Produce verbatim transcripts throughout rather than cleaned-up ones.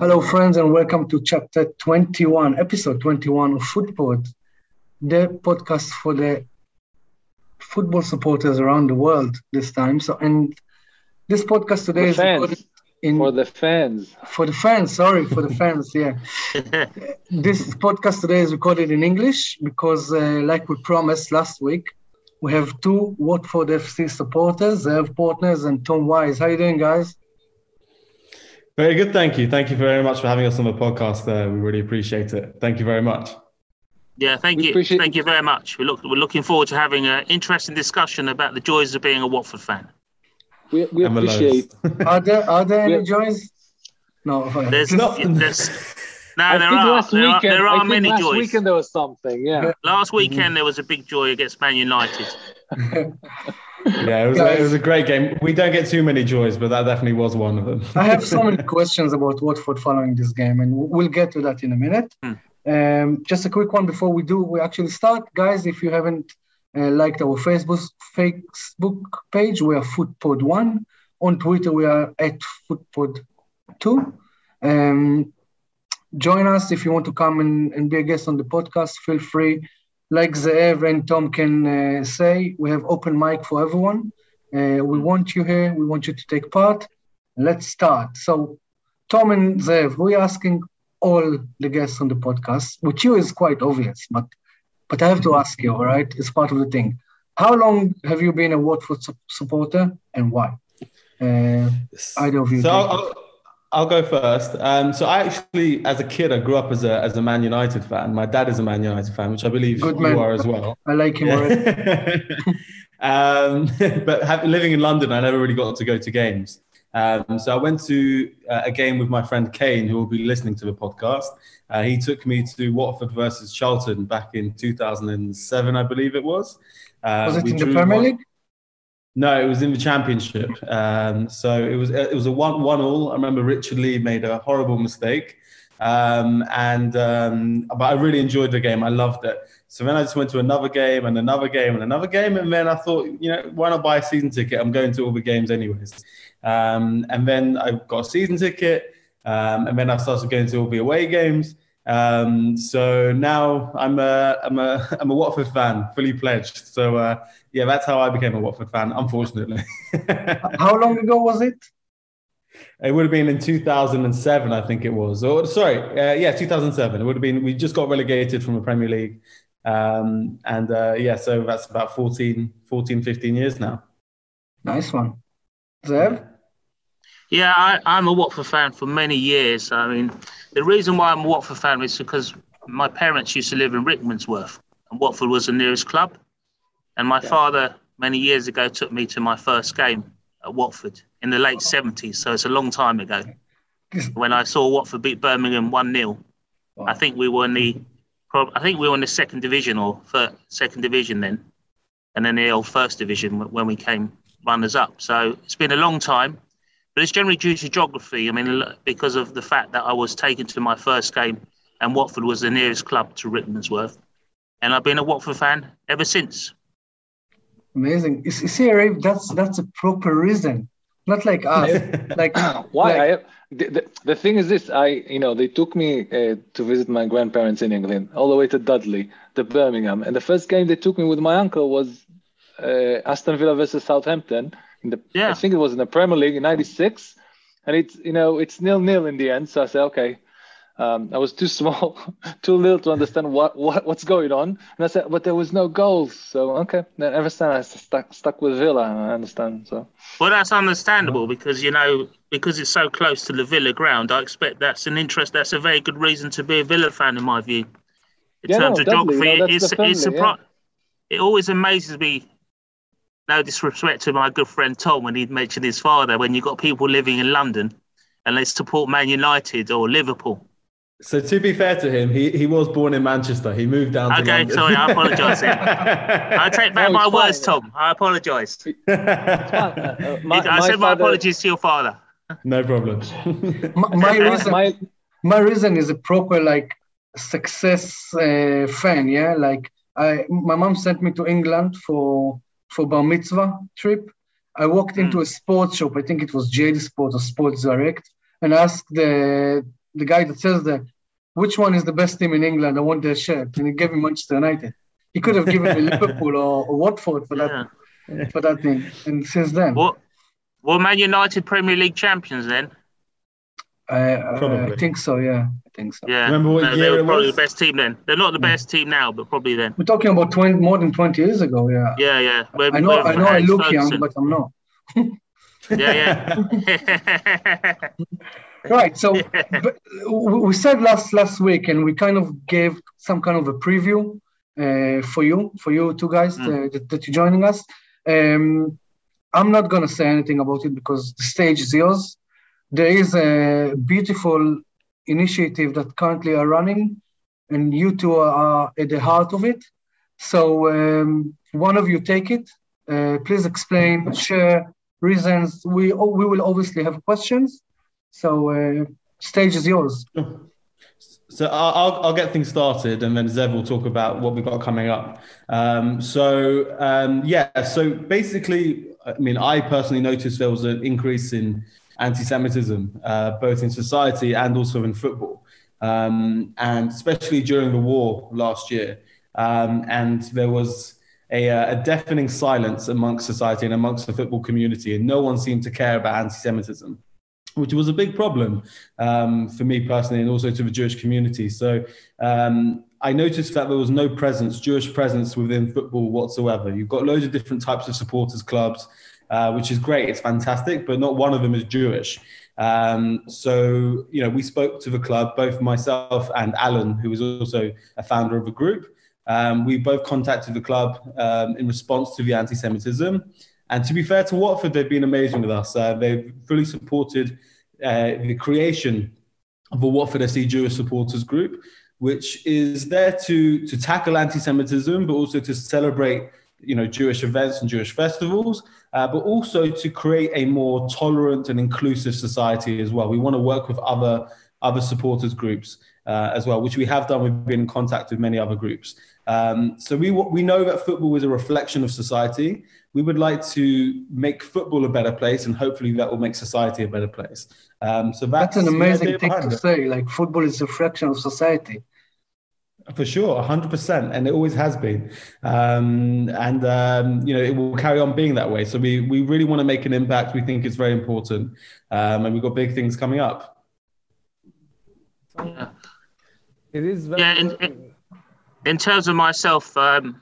Hello, friends, and welcome to chapter twenty-one, episode twenty-one of Footpod, the podcast for the football supporters around the world this time. So, and this podcast today the is fans. recorded in For the fans. for the fans. Sorry, for the fans. Yeah, this podcast today is recorded in English because, uh, like we promised last week, we have two Watford F C supporters, Zev Partners and Tom Wise. How you doing, guys? Very good, thank you. Thank you very much for having us on the podcast. Uh, we really appreciate it. Thank you very much. Yeah, thank We you. appreciate- Thank you very much. We look, we're looking forward to having an interesting discussion about the joys of being a Watford fan. We, we And the lows. appreciate. Are there are there any Yeah. joys? No. There's, No. there's no, I there think are. last There are, weekend, there I are think many last joys. weekend there was something. Yeah. Last weekend there was a big joy against Man United. Yeah, it was, a, it was a great game. We don't get too many joys, but that definitely was one of them. I have so many questions about Watford following this game, and we'll get to that in a minute. Hmm. Um, just a quick one before we do. We actually start, guys. If you haven't uh, liked our Facebook Facebook page, we are Footpod One. On Twitter, we are at Footpod Two. Um, join us if you want to come and, and be a guest on the podcast. Feel free. Like Zev and Tom can uh, say, we have open mic for everyone. Uh, we want you here. We want you to take part. Let's start. So, Tom and Zev, we're asking all the guests on the podcast, which you is quite obvious, but but I have to ask you, all right? It's part of the thing. How long have you been a Watford su- supporter and why? Uh, either of you. So take I'll, it. I'll, I'll go first. Um, so I actually, as a kid, I grew up as a as a Man United fan. My dad is a Man United fan, which I believe Good you man. are as well. I like him already. um, but have, living in London, I never really got to go to games. Um, so I went to uh, a game with my friend Kane, who will be listening to the podcast. Uh, he took me to Watford versus Charlton back in two thousand seven, I believe it was. Uh, Was it we in the drew Premier one- League? No, it was in the Championship. Um, so it was it was a one one all. I remember Richard Lee made a horrible mistake, um, and um, but I really enjoyed the game. I loved it. So then I just went to another game and another game and another game, and then I thought, you know, why not buy a season ticket? I'm going to all the games anyways. Um, and then I got a season ticket, um, and then I started going to all the away games. Um, so now I'm a I'm a I'm a Watford fan, fully pledged. So uh, yeah, that's how I became a Watford fan. Unfortunately, How long ago was it? it would have been in two thousand seven, I think it was. Or sorry, uh, yeah, two thousand seven. It would have been. We just got relegated from the Premier League, um, and uh, yeah, so that's about fourteen, fourteen, fifteen years now. Nice one. Zev? Yeah, I, I'm a Watford fan for many years. I mean, the reason why I'm a Watford fan is because my parents used to live in Rickmansworth, and Watford was the nearest club. And my father, many years ago, took me to my first game at Watford in the late seventies. So it's a long time ago. When I saw Watford beat Birmingham one nil, I think we were in the, prob- I think we were in the second division or third, second division then, and then the old first division when we came runners up. So it's been a long time. But it's generally due to geography. I mean, because of the fact that I was taken to my first game and Watford was the nearest club to Rickmansworth. And I've been a Watford fan ever since. Amazing. You see, see, Rafe, that's that's a proper reason. Not like us. like Why? like- I have, the, the, the thing is this. I, you know, they took me uh, to visit my grandparents in England, all the way to Dudley, to Birmingham. And the first game they took me with my uncle was uh, Aston Villa versus Southampton. In the, Yeah. I think it was in the Premier League in ninety-six. And it's, you know, it's nil-nil in the end. So I said, okay. Um, I was too small, too little to understand what, what what's going on. And I said, but there was no goals. So, okay. Then ever since I stuck, stuck with Villa, I understand. So. Well, that's understandable because, you know, because it's so close to the Villa ground, I expect that's an interest. That's a very good reason to be a Villa fan, in my view. In Yeah, terms no, of definitely, geography, you know, that's it's, the family, it's surpri- it always amazes me. No disrespect to my good friend Tom when he mentioned his father, when you've got people living in London and they support Man United or Liverpool. So to be fair to him, he, he was born in Manchester. He moved down to Okay, London. sorry, I apologise. I take back No, my it's words, fine, Tom. I apologise. Uh, uh, my, I my said my father- apologies to your father. No problem. my, my my- reason my- my reason is a proper like success uh, fan, yeah. Like I, my mom sent me to England for for bar mitzvah trip. I walked into a sports shop. I think it was J D Sports or Sports Direct, and asked the the guy that says that, which one is the best team in England? I want their shirt. And he gave me Manchester United. He could have given me Liverpool or, or Watford for that yeah. for that thing. And since then. What? Well, Man United Premier League champions then? Uh, uh, I think so, yeah. I think so. Yeah. Remember what no, year they were it probably was? the best team then. They're not the best team now, but probably then. We're talking about twenty, more than twenty years ago, yeah. Yeah, yeah. When, I know, I know I look Ferguson. young, but I'm not. yeah, yeah. Right, so but we said last last week, and we kind of gave some kind of a preview uh, for you, for you two guys mm. uh, that, that you're joining us. Um, I'm not going to say anything about it because the stage is yours. There is a beautiful initiative that currently are running, and you two are at the heart of it. So um, one of you take it. Uh, please explain, share reasons. We we will obviously have questions. So uh, stage is yours. So I'll, I'll get things started, and then Zev will talk about what we've got coming up. Um, so um, yeah, so basically, I mean, I personally noticed there was an increase in anti-Semitism, uh, both in society and also in football, um, and especially during the war last year. Um, and there was a, a deafening silence amongst society and amongst the football community, and no one seemed to care about anti-Semitism, which was a big problem um, for me personally and also to the Jewish community. So um, I noticed that there was no presence, Jewish presence within football whatsoever. You've got loads of different types of supporters clubs, uh, which is great, it's fantastic, but not one of them is Jewish. Um, so, you know, we spoke to the club, both myself and Alan, who was also a founder of the group. Um, we both contacted the club um, in response to the anti-Semitism. And to be fair to Watford, they've been amazing with us. Uh, they've fully supported uh, the creation of a Watford S C Jewish supporters group, which is there to, to tackle anti-Semitism, but also to celebrate, you know, Jewish events and Jewish festivals, uh, but also to create a more tolerant and inclusive society as well. We want to work with other, other supporters groups uh, as well, which we have done. We've been in contact with many other groups. Um, so we we know that football is a reflection of society. We would like to make football a better place, and hopefully that will make society a better place. Um, so that's, that's an amazing thing to it. say. Like football is a reflection of society. For sure, one hundred percent, and it always has been, um, and um, you know it will carry on being that way. So we we really want to make an impact. We think it's very important, um, and we've got big things coming up. Yeah. It is very. Yeah, in, in, in terms of myself, um,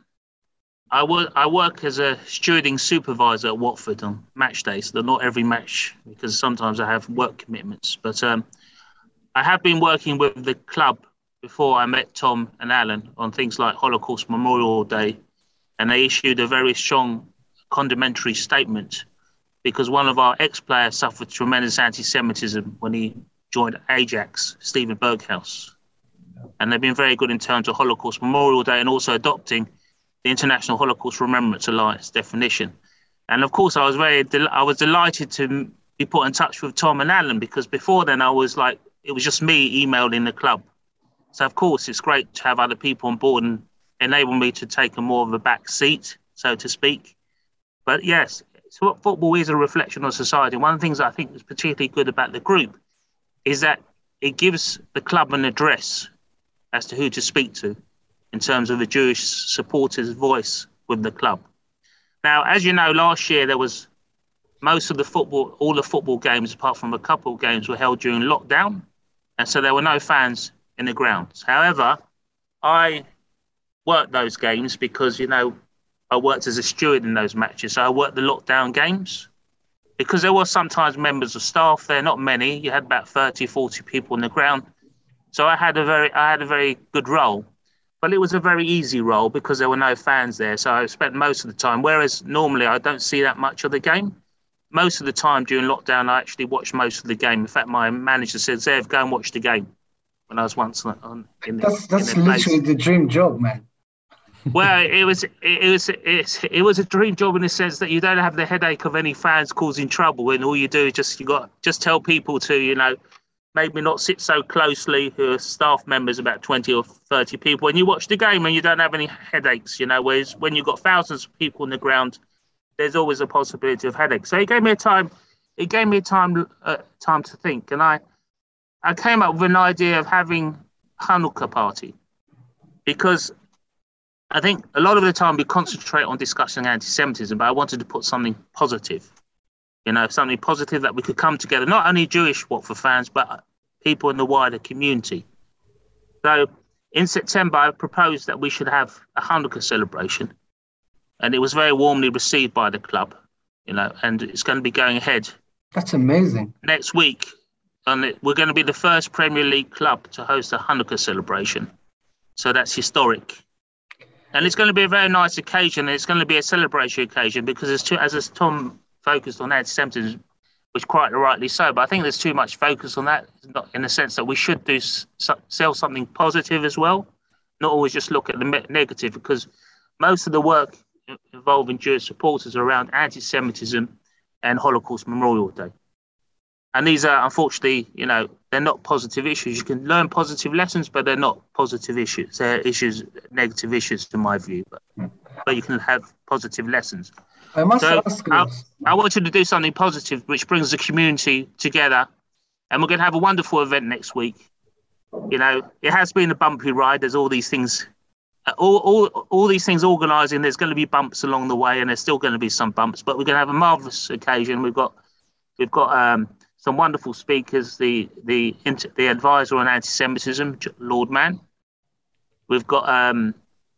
I work I work as a stewarding supervisor at Watford on match days. So not every match, because sometimes I have work commitments. But um, I have been working with the club before I met Tom and Alan on things like Holocaust Memorial Day, and they issued a very strong condemnatory statement because one of our ex-players suffered tremendous anti-Semitism when he joined Ajax, Stephen Berghaus. And they've been very good in terms of Holocaust Memorial Day and also adopting the International Holocaust Remembrance Alliance definition. And of course, I was very, del- I was delighted to be put in touch with Tom and Alan, because before then I was like, it was just me emailing the club. So of course, it's great to have other people on board and enable me to take a more of a back seat, so to speak. But yes, so football is a reflection of society. One of the things I think is particularly good about the group is that it gives the club an address as to who to speak to in terms of a Jewish supporter's voice with the club. Now, as you know, last year there was most of the football, all the football games, apart from a couple of games, were held during lockdown. And so there were no fans in the grounds. However, I worked those games because, you know, I worked as a steward in those matches. So I worked the lockdown games because there were sometimes members of staff there, not many. You had about thirty, forty people on the ground. So I had a very, I had a very good role, but it was a very easy role because there were no fans there. So I spent most of the time, whereas normally I don't see that much of the game. Most of the time during lockdown, I actually watched most of the game. In fact, my manager said, Zev, go and watch the game when I was once on. In the, that's that's in literally the dream job, man. Well, it was, it, it was, it, it was a dream job in the sense that you don't have the headache of any fans causing trouble, and all you do is just, you got, just tell people to, you know, maybe not sit so closely, who are staff members, about twenty or thirty people, and you watch the game and you don't have any headaches, you know, whereas when you've got thousands of people on the ground, there's always a possibility of headaches. So it gave me a time, it gave me a time, uh, time to think. And I, I came up with an idea of having Hanukkah party because I think a lot of the time we concentrate on discussing anti-Semitism, but I wanted to put something positive, you know, something positive that we could come together, not only Jewish Watford fans, but people in the wider community. So in September, I proposed that we should have a Hanukkah celebration, and it was very warmly received by the club, you know, and it's going to be going ahead. That's amazing. Next week, and it, we're going to be the first Premier League club to host a Hanukkah celebration. So that's historic. And it's going to be a very nice occasion. It's going to be a celebration occasion because there's too, as Tom focused on anti-Semitism, which quite rightly so, but I think there's too much focus on that, not in the sense that we should do sell something positive as well, not always just look at the negative, because most of the work involving Jewish supporters are around anti-Semitism and Holocaust Memorial Day. And these are, unfortunately, you know, they're not positive issues. You can learn positive lessons, but they're not positive issues. They're issues, negative issues, in my view. But, but you can have positive lessons. I must so ask I, this. I wanted to do something positive, which brings the community together. And we're going to have a wonderful event next week. You know, it has been a bumpy ride. There's all these things, all all, all these things organising. There's going to be bumps along the way, and there's still going to be some bumps. But we're going to have a marvellous occasion. We've got, we've got um, some wonderful speakers. The the the advisor on anti-Semitism, Lord Mann. We've got um,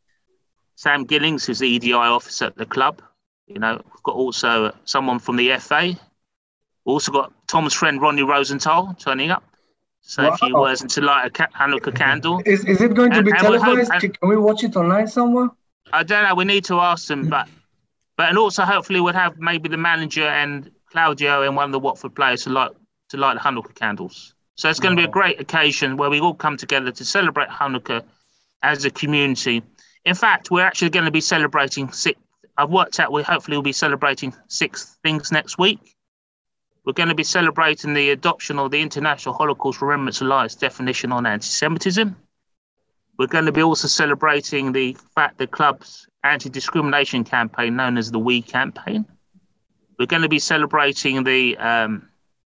Sam Gillings, who's the E D I officer at the club. You know, we've got also someone from the F A. We've also got Tom's friend Ronnie Rosenthal turning up. Say wow. a few words and to light a ca- Hanukkah candle. Is is it going to and, be and televised? Hope, and, Can we watch it online somewhere? I don't know. We need to ask them, but but and also hopefully we'll have maybe the manager and Claudio and one of the Watford players to light to light the Hanukkah candles. So it's going wow. to be a great occasion where we all come together to celebrate Hanukkah as a community. In fact, we're actually going to be celebrating six. I've worked out we hopefully will be celebrating six things next week. We're going to be celebrating the adoption of the International Holocaust Remembrance Alliance definition on anti-Semitism. We're going to be also celebrating the fact the club's anti-discrimination campaign known as the We campaign. We're going to be celebrating the um,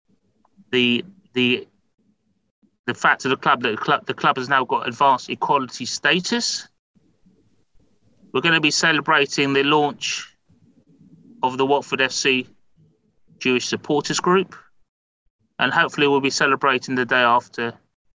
the the the fact of the club that the club the club has now got advanced equality status. We're going to be celebrating the launch of the Watford F C Jewish Supporters Group. And hopefully we'll be celebrating the day after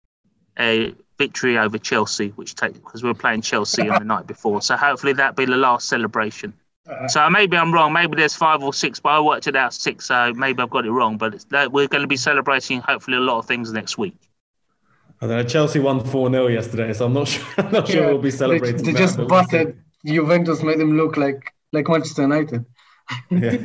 a victory over Chelsea, which take because we were playing Chelsea on the night before. So hopefully that'll be the last celebration. Uh, so maybe I'm wrong. Maybe there's five or six, but I worked it out six, so maybe I've got it wrong. But it's, we're going to be celebrating hopefully a lot of things next week. Although Chelsea won four nil yesterday, so I'm not sure, I'm not sure yeah, we'll be celebrating. They, they that, just butted Juventus, made them look like like Manchester United. Yeah.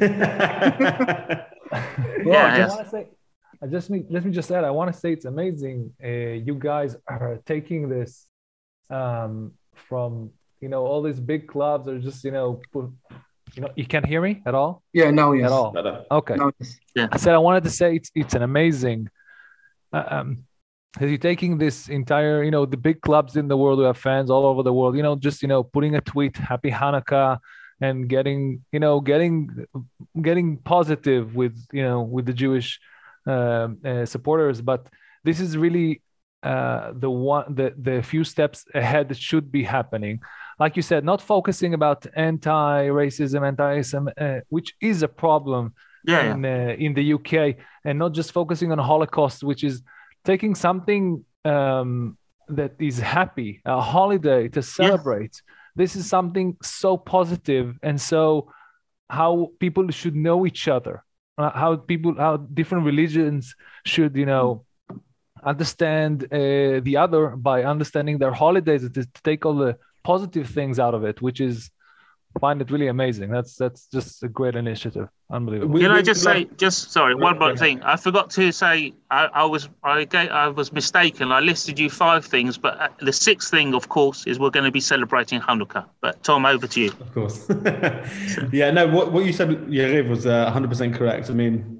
well, yeah, I yes. want to say, I just me, let me just add. I want to say it's amazing. Uh, you guys are taking this um, from you know all these big clubs are just you know put, you know you can't hear me at all. Yeah, now yes. At all. Okay. Now, yes. Yeah. I said I wanted to say it's it's an amazing. Uh, um, You're taking this entire, you know, the big clubs in the world who have fans all over the world, you know, just, you know, putting a tweet, Happy Hanukkah, and getting, you know, getting, getting positive with, you know, with the Jewish uh, uh, supporters. But this is really uh, the one, the, the few steps ahead that should be happening. Like you said, not focusing about anti-racism, anti-Islam, uh, which is a problem yeah, in, yeah. Uh, in the U K, and not just focusing on Holocaust, which is taking something um, that is happy, a holiday to celebrate. Yes. This is something so positive, and so how people should know each other, uh, how people, how different religions should, you know, understand uh, the other by understanding their holidays, to, to take all the positive things out of it, which is, I find it really amazing. That's that's just a great initiative. Unbelievable. Can I just say, just sorry, one more thing. I forgot to say, I, I was I, I was mistaken. I listed you five things, but the sixth thing, of course, is we're going to be celebrating Hanukkah. But Tom, over to you. Of course. yeah, no, what, what you said, Yariv, was uh, one hundred percent correct. I mean,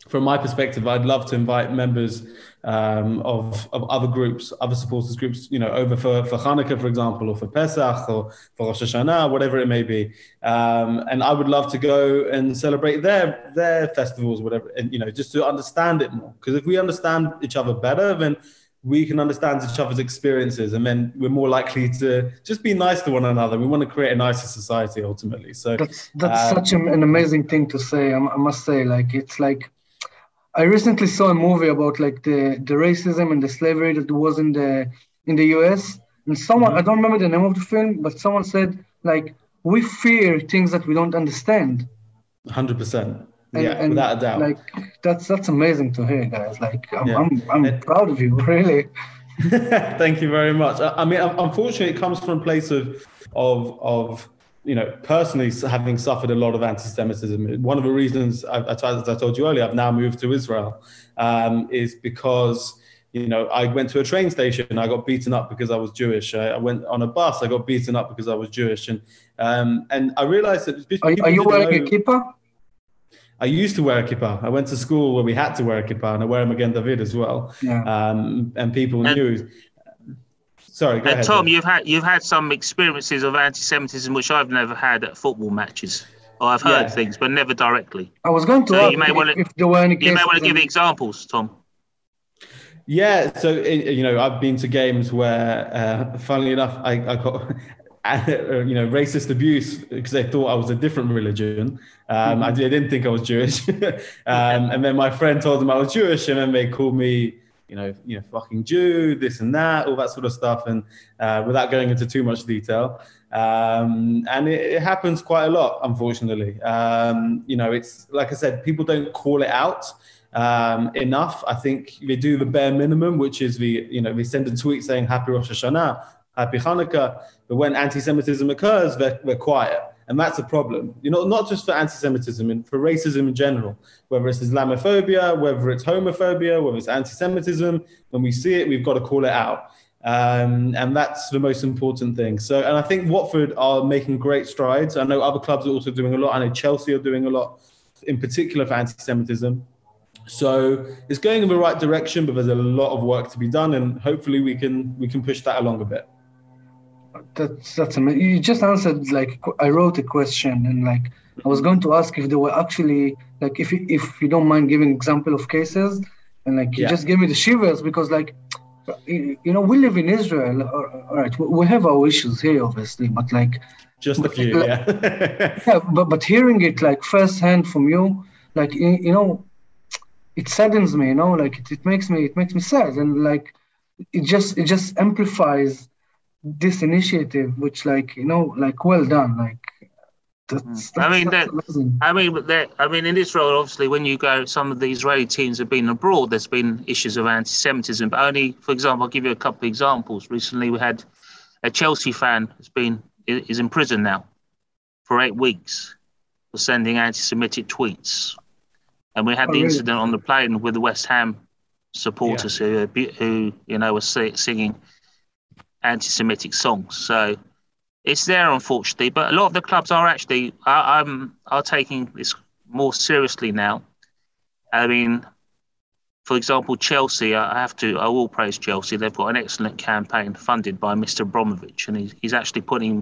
from my perspective, I'd love to invite members um, of, of other groups, other supporters groups, you know, over for, for Hanukkah, for example, or for Pesach, or for Rosh Hashanah, whatever it may be. Um, and I would love to go and celebrate their their festivals, whatever, and, you know, just to understand it more. Because if we understand each other better, then we can understand each other's experiences, and then we're more likely to just be nice to one another. We want to create a nicer society ultimately. So that's that's um, such an, an amazing thing to say. I, I must say, like, it's like, I recently saw a movie about like the, the racism and the slavery that was in the in the U S. And someone, mm-hmm. I don't remember the name of the film, but someone said, like, we fear things that we don't understand. one hundred percent. And, yeah, and without a doubt. Like, that's that's amazing to hear, guys. Like, I'm yeah. I'm, I'm it, proud of you, really. Thank you very much. I, I mean, unfortunately, it comes from a place of of of. you know, personally having suffered a lot of anti-Semitism. One of the reasons, I, I, as I told you earlier, I've now moved to Israel, um, is because, you know, I went to a train station and I got beaten up because I was Jewish. I, I went on a bus, I got beaten up because I was Jewish. And um, and I realized that people Are, are you wearing know, a kippah? I used to wear a kippah. I went to school where we had to wear a kippah, and I wear them again, David, as well. Yeah. Um, and people and, knew. Sorry, go and ahead. Tom, you've had you've had some experiences of anti-Semitism which I've never had at football matches. Or I've heard Yeah. things, but never directly. I was going to So ask you may if, wanna, if there were any you cases. may want to give in- examples, Tom. Yeah, so you know, I've been to games where, uh, funnily enough, I, I got you know racist abuse because they thought I was a different religion. Um, Mm-hmm. I, they didn't think I was Jewish, um, and then my friend told them I was Jewish, and then they called me, you know, you know, fucking Jew, this and that, all that sort of stuff, and uh, without going into too much detail. Um, and it, it happens quite a lot, unfortunately. Um, you know, it's like I said, people don't call it out um, enough. I think they do the bare minimum, which is the, you know, they send a tweet saying Happy Rosh Hashanah, Happy Hanukkah, but when anti-Semitism occurs, they're, they're quiet. And that's a problem, you know, not just for anti-Semitism, and for racism in general, whether it's Islamophobia, whether it's homophobia, whether it's anti-Semitism. When we see it, we've got to call it out. Um, and that's the most important thing. So, and I think Watford are making great strides. I know other clubs are also doing a lot. I know Chelsea are doing a lot, in particular for anti-Semitism. So it's going in the right direction, but there's a lot of work to be done. And hopefully we can, we can push that along a bit. That's that's amazing. You just answered, like, I wrote a question, and like I was going to ask if there were actually, like, if you, if you don't mind giving example of cases, and like you Yeah. just gave me the shivers, because like, you know, we live in Israel. All right, we have our issues here, obviously, but like Just a few, like, yeah. yeah, but but hearing it like firsthand from you, like you, you know, it saddens me. You know, like it, it makes me it makes me sad, and like it just it just amplifies this initiative, which, like, you know, like, well done, like that's, that's I mean, that's that, amazing. I mean, but there, I mean, in Israel, obviously, when you go, some of the Israeli teams have been abroad. There's been issues of anti-Semitism, but only, for example, I'll give you a couple of examples. Recently, we had a Chelsea fan has been is in prison now for eight weeks for sending anti-Semitic tweets, and we had Oh, the really? incident on the plane with the West Ham supporters who, who you know, were singing anti-Semitic songs. So it's there, unfortunately, but a lot of the clubs are actually are, um, are taking this more seriously now. I mean, for example, Chelsea, I have to, I will praise Chelsea. They've got an excellent campaign funded by Mister Abramovich, and he's, he's actually putting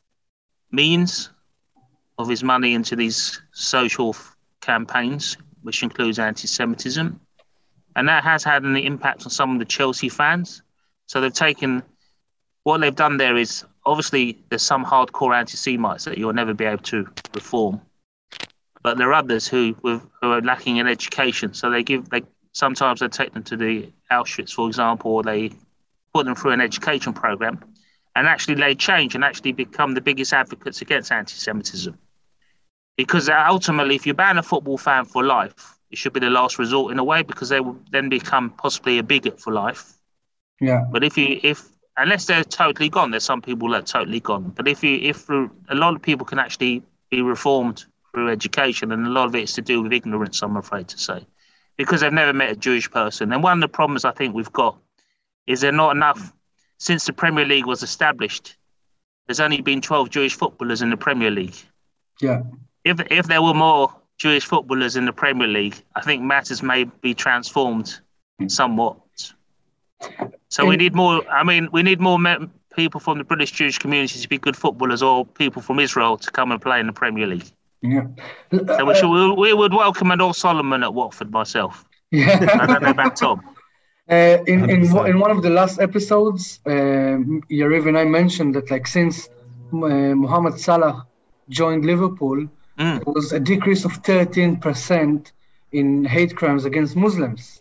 means of his money into these social f- campaigns, which includes anti-Semitism. And that has had an impact on some of the Chelsea fans. So they've taken, what they've done there is, obviously, there's some hardcore anti-Semites that you'll never be able to reform. But there are others who, who are lacking in education. So they give, they sometimes they take them to the Auschwitz, for example, or they put them through an education program. And actually they change and actually become the biggest advocates against anti-Semitism. Because ultimately, if you ban a football fan for life, it should be the last resort in a way, because they will then become possibly a bigot for life. Yeah. But if you, if, unless they're totally gone, there's some people that are totally gone. But if you, if a lot of people can actually be reformed through education, and a lot of it is to do with ignorance, I'm afraid to say, because they've never met a Jewish person. And one of the problems I think we've got is there not enough, since the Premier League was established, there's only been twelve Jewish footballers in the Premier League. Yeah. If if there were more Jewish footballers in the Premier League, I think matters may be transformed somewhat. So we need more. I mean, we need more me- people from the British Jewish community to be good footballers, or people from Israel to come and play in the Premier League. Yeah. So we, should, we, we would welcome Adol Solomon at Watford myself. Yeah. I don't know about Tom. Uh, in, in in one of the last episodes, um, Yariv and I mentioned that like since uh, Mohamed Salah joined Liverpool, Mm. there was a decrease of thirteen percent in hate crimes against Muslims.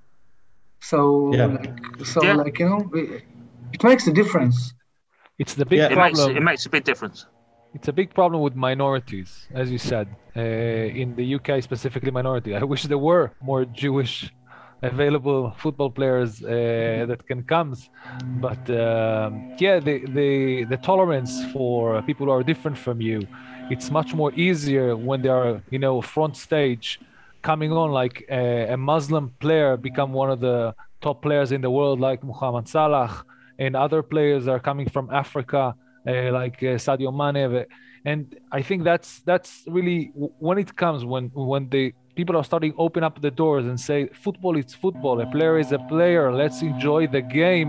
So, Yeah. like, so Yeah. like you know, it, it makes a difference. It's the big Yeah. It makes problem. it makes a big difference. It's a big problem with minorities, as you said, uh, in the U K, specifically minority. I wish there were more Jewish available football players uh, that can come, but um, yeah, the, the the tolerance for people who are different from you, it's much more easier when they are, you know, front stage, coming on like a, a Muslim player become one of the top players in the world, like Mohamed Salah, and other players are coming from Africa. Uh, like uh, Sadio Mane, and I think that's that's really when it comes when when the people are starting to open up the doors and say football is football, a player is a player, let's enjoy the game.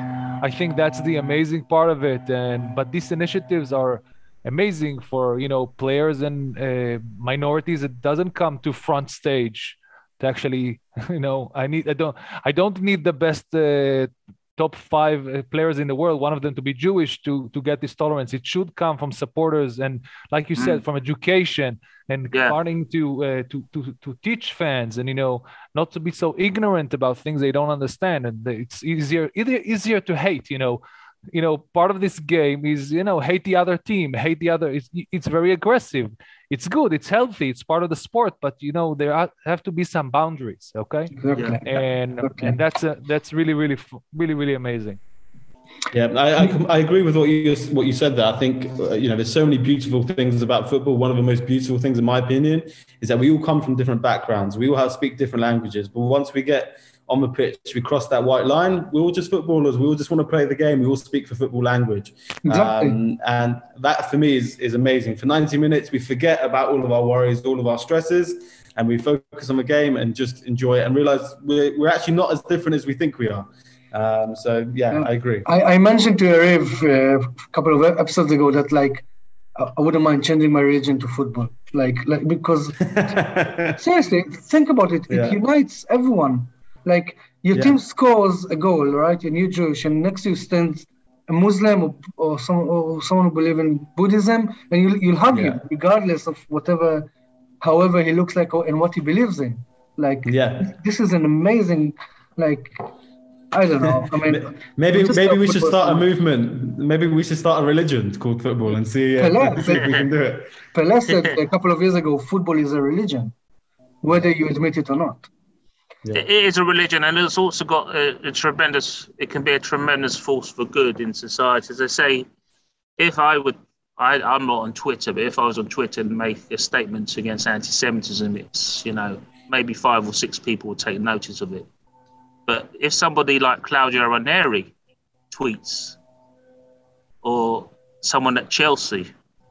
I think that's the amazing part of it. And but these initiatives are amazing for, you know, players and uh, minorities. It doesn't come to front stage to actually, you know, I need I don't I don't need the best. Uh, top five uh, players in the world, one of them to be Jewish to to get this tolerance. It should come from supporters and, like you said, from education and Yeah. starting to, uh, to to to teach fans and, you know, not to be so ignorant about things they don't understand. And it's easier either easier to hate, you know. You know, part of this game is, you know, hate the other team, hate the other. It's it's very aggressive. It's good. It's healthy. It's part of the sport. But, you know, there are, have to be some boundaries. Okay. Exactly. And Okay. and that's a, that's really really really really amazing. Yeah, I, I, com- I agree with what you what you said there. I think uh, you know, there's so many beautiful things about football. One of the most beautiful things, in my opinion, is that we all come from different backgrounds. We all have speak different languages. But once we get on the pitch, we cross that white line. We're all just footballers. We all just want to play the game. We all speak for football language. Exactly. Um, and that for me is is amazing. For ninety minutes, we forget about all of our worries, all of our stresses, and we focus on the game and just enjoy it and realize we're we're actually not as different as we think we are. Um, so yeah, Yeah. I agree. I, I mentioned to Yariv uh, a couple of episodes ago that like I I wouldn't mind changing my religion to football, like like because seriously, think about it. It Yeah. unites everyone. Like your Yeah. team scores a goal, right? And you're Jewish, and next to you stands a Muslim or, or some or someone who believes in Buddhism, and you'll you'll hug Yeah. him regardless of whatever, however he looks like or, and what he believes in. Like Yeah. this is an amazing, like I don't know. I mean, Maybe just maybe love we should football start a so much. movement. Maybe we should start a religion called football and see, uh, Pele, see if we can do it. Pele said a couple of years ago, football is a religion, whether you admit it or not. Yeah. It is a religion, and it's also got a, a tremendous. It can be a tremendous force for good in society. As I say, if I would, I, I'm not on Twitter, but if I was on Twitter and make a statement against anti-Semitism, it's, you know, maybe five or six people would take notice of it. But if somebody like Claudio Ranieri tweets, or someone at Chelsea,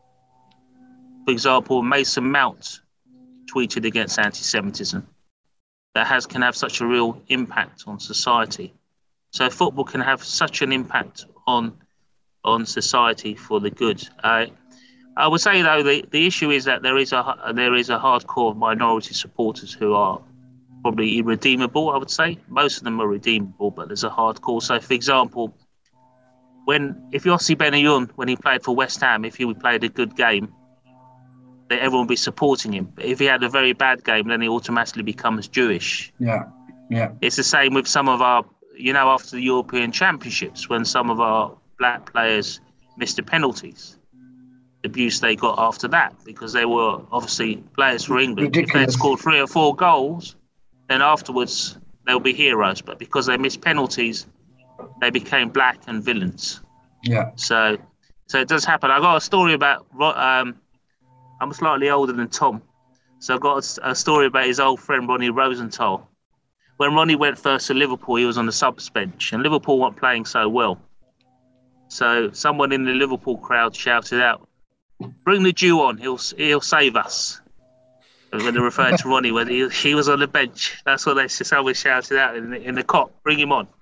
for example, Mason Mount tweeted against anti-Semitism, that has can have such a real impact on society. So football can have such an impact on on society for the good. Uh, I would say though the, the issue is that there is a there is a hardcore minority supporters who are probably irredeemable. I would say most of them are redeemable, but there's a hardcore. So for example, when if Yossi Benayoun, when he played for West Ham, if he played a good game, that everyone would be supporting him. But if he had a very bad game, then he automatically becomes Jewish. Yeah, yeah. It's the same with some of our, you know, after the European Championships, when some of our black players missed the penalties, the abuse they got after that, because they were obviously players for England. If Ridiculous. they'd scored three or four goals, then afterwards they'll be heroes. But because they missed penalties, they became black and villains. Yeah. So, so it does happen. I got a story about. Um, I'm slightly older than Tom, so I've got a, a story about his old friend Ronnie Rosenthal. When Ronnie went first to Liverpool, he was on the subs bench, and Liverpool weren't playing so well. So someone in the Liverpool crowd shouted out, "Bring the Jew on! He'll he'll save us." when they referred to Ronnie, when he, he was on the bench. That's what they just always shouted out in the, in the cop, bring him on.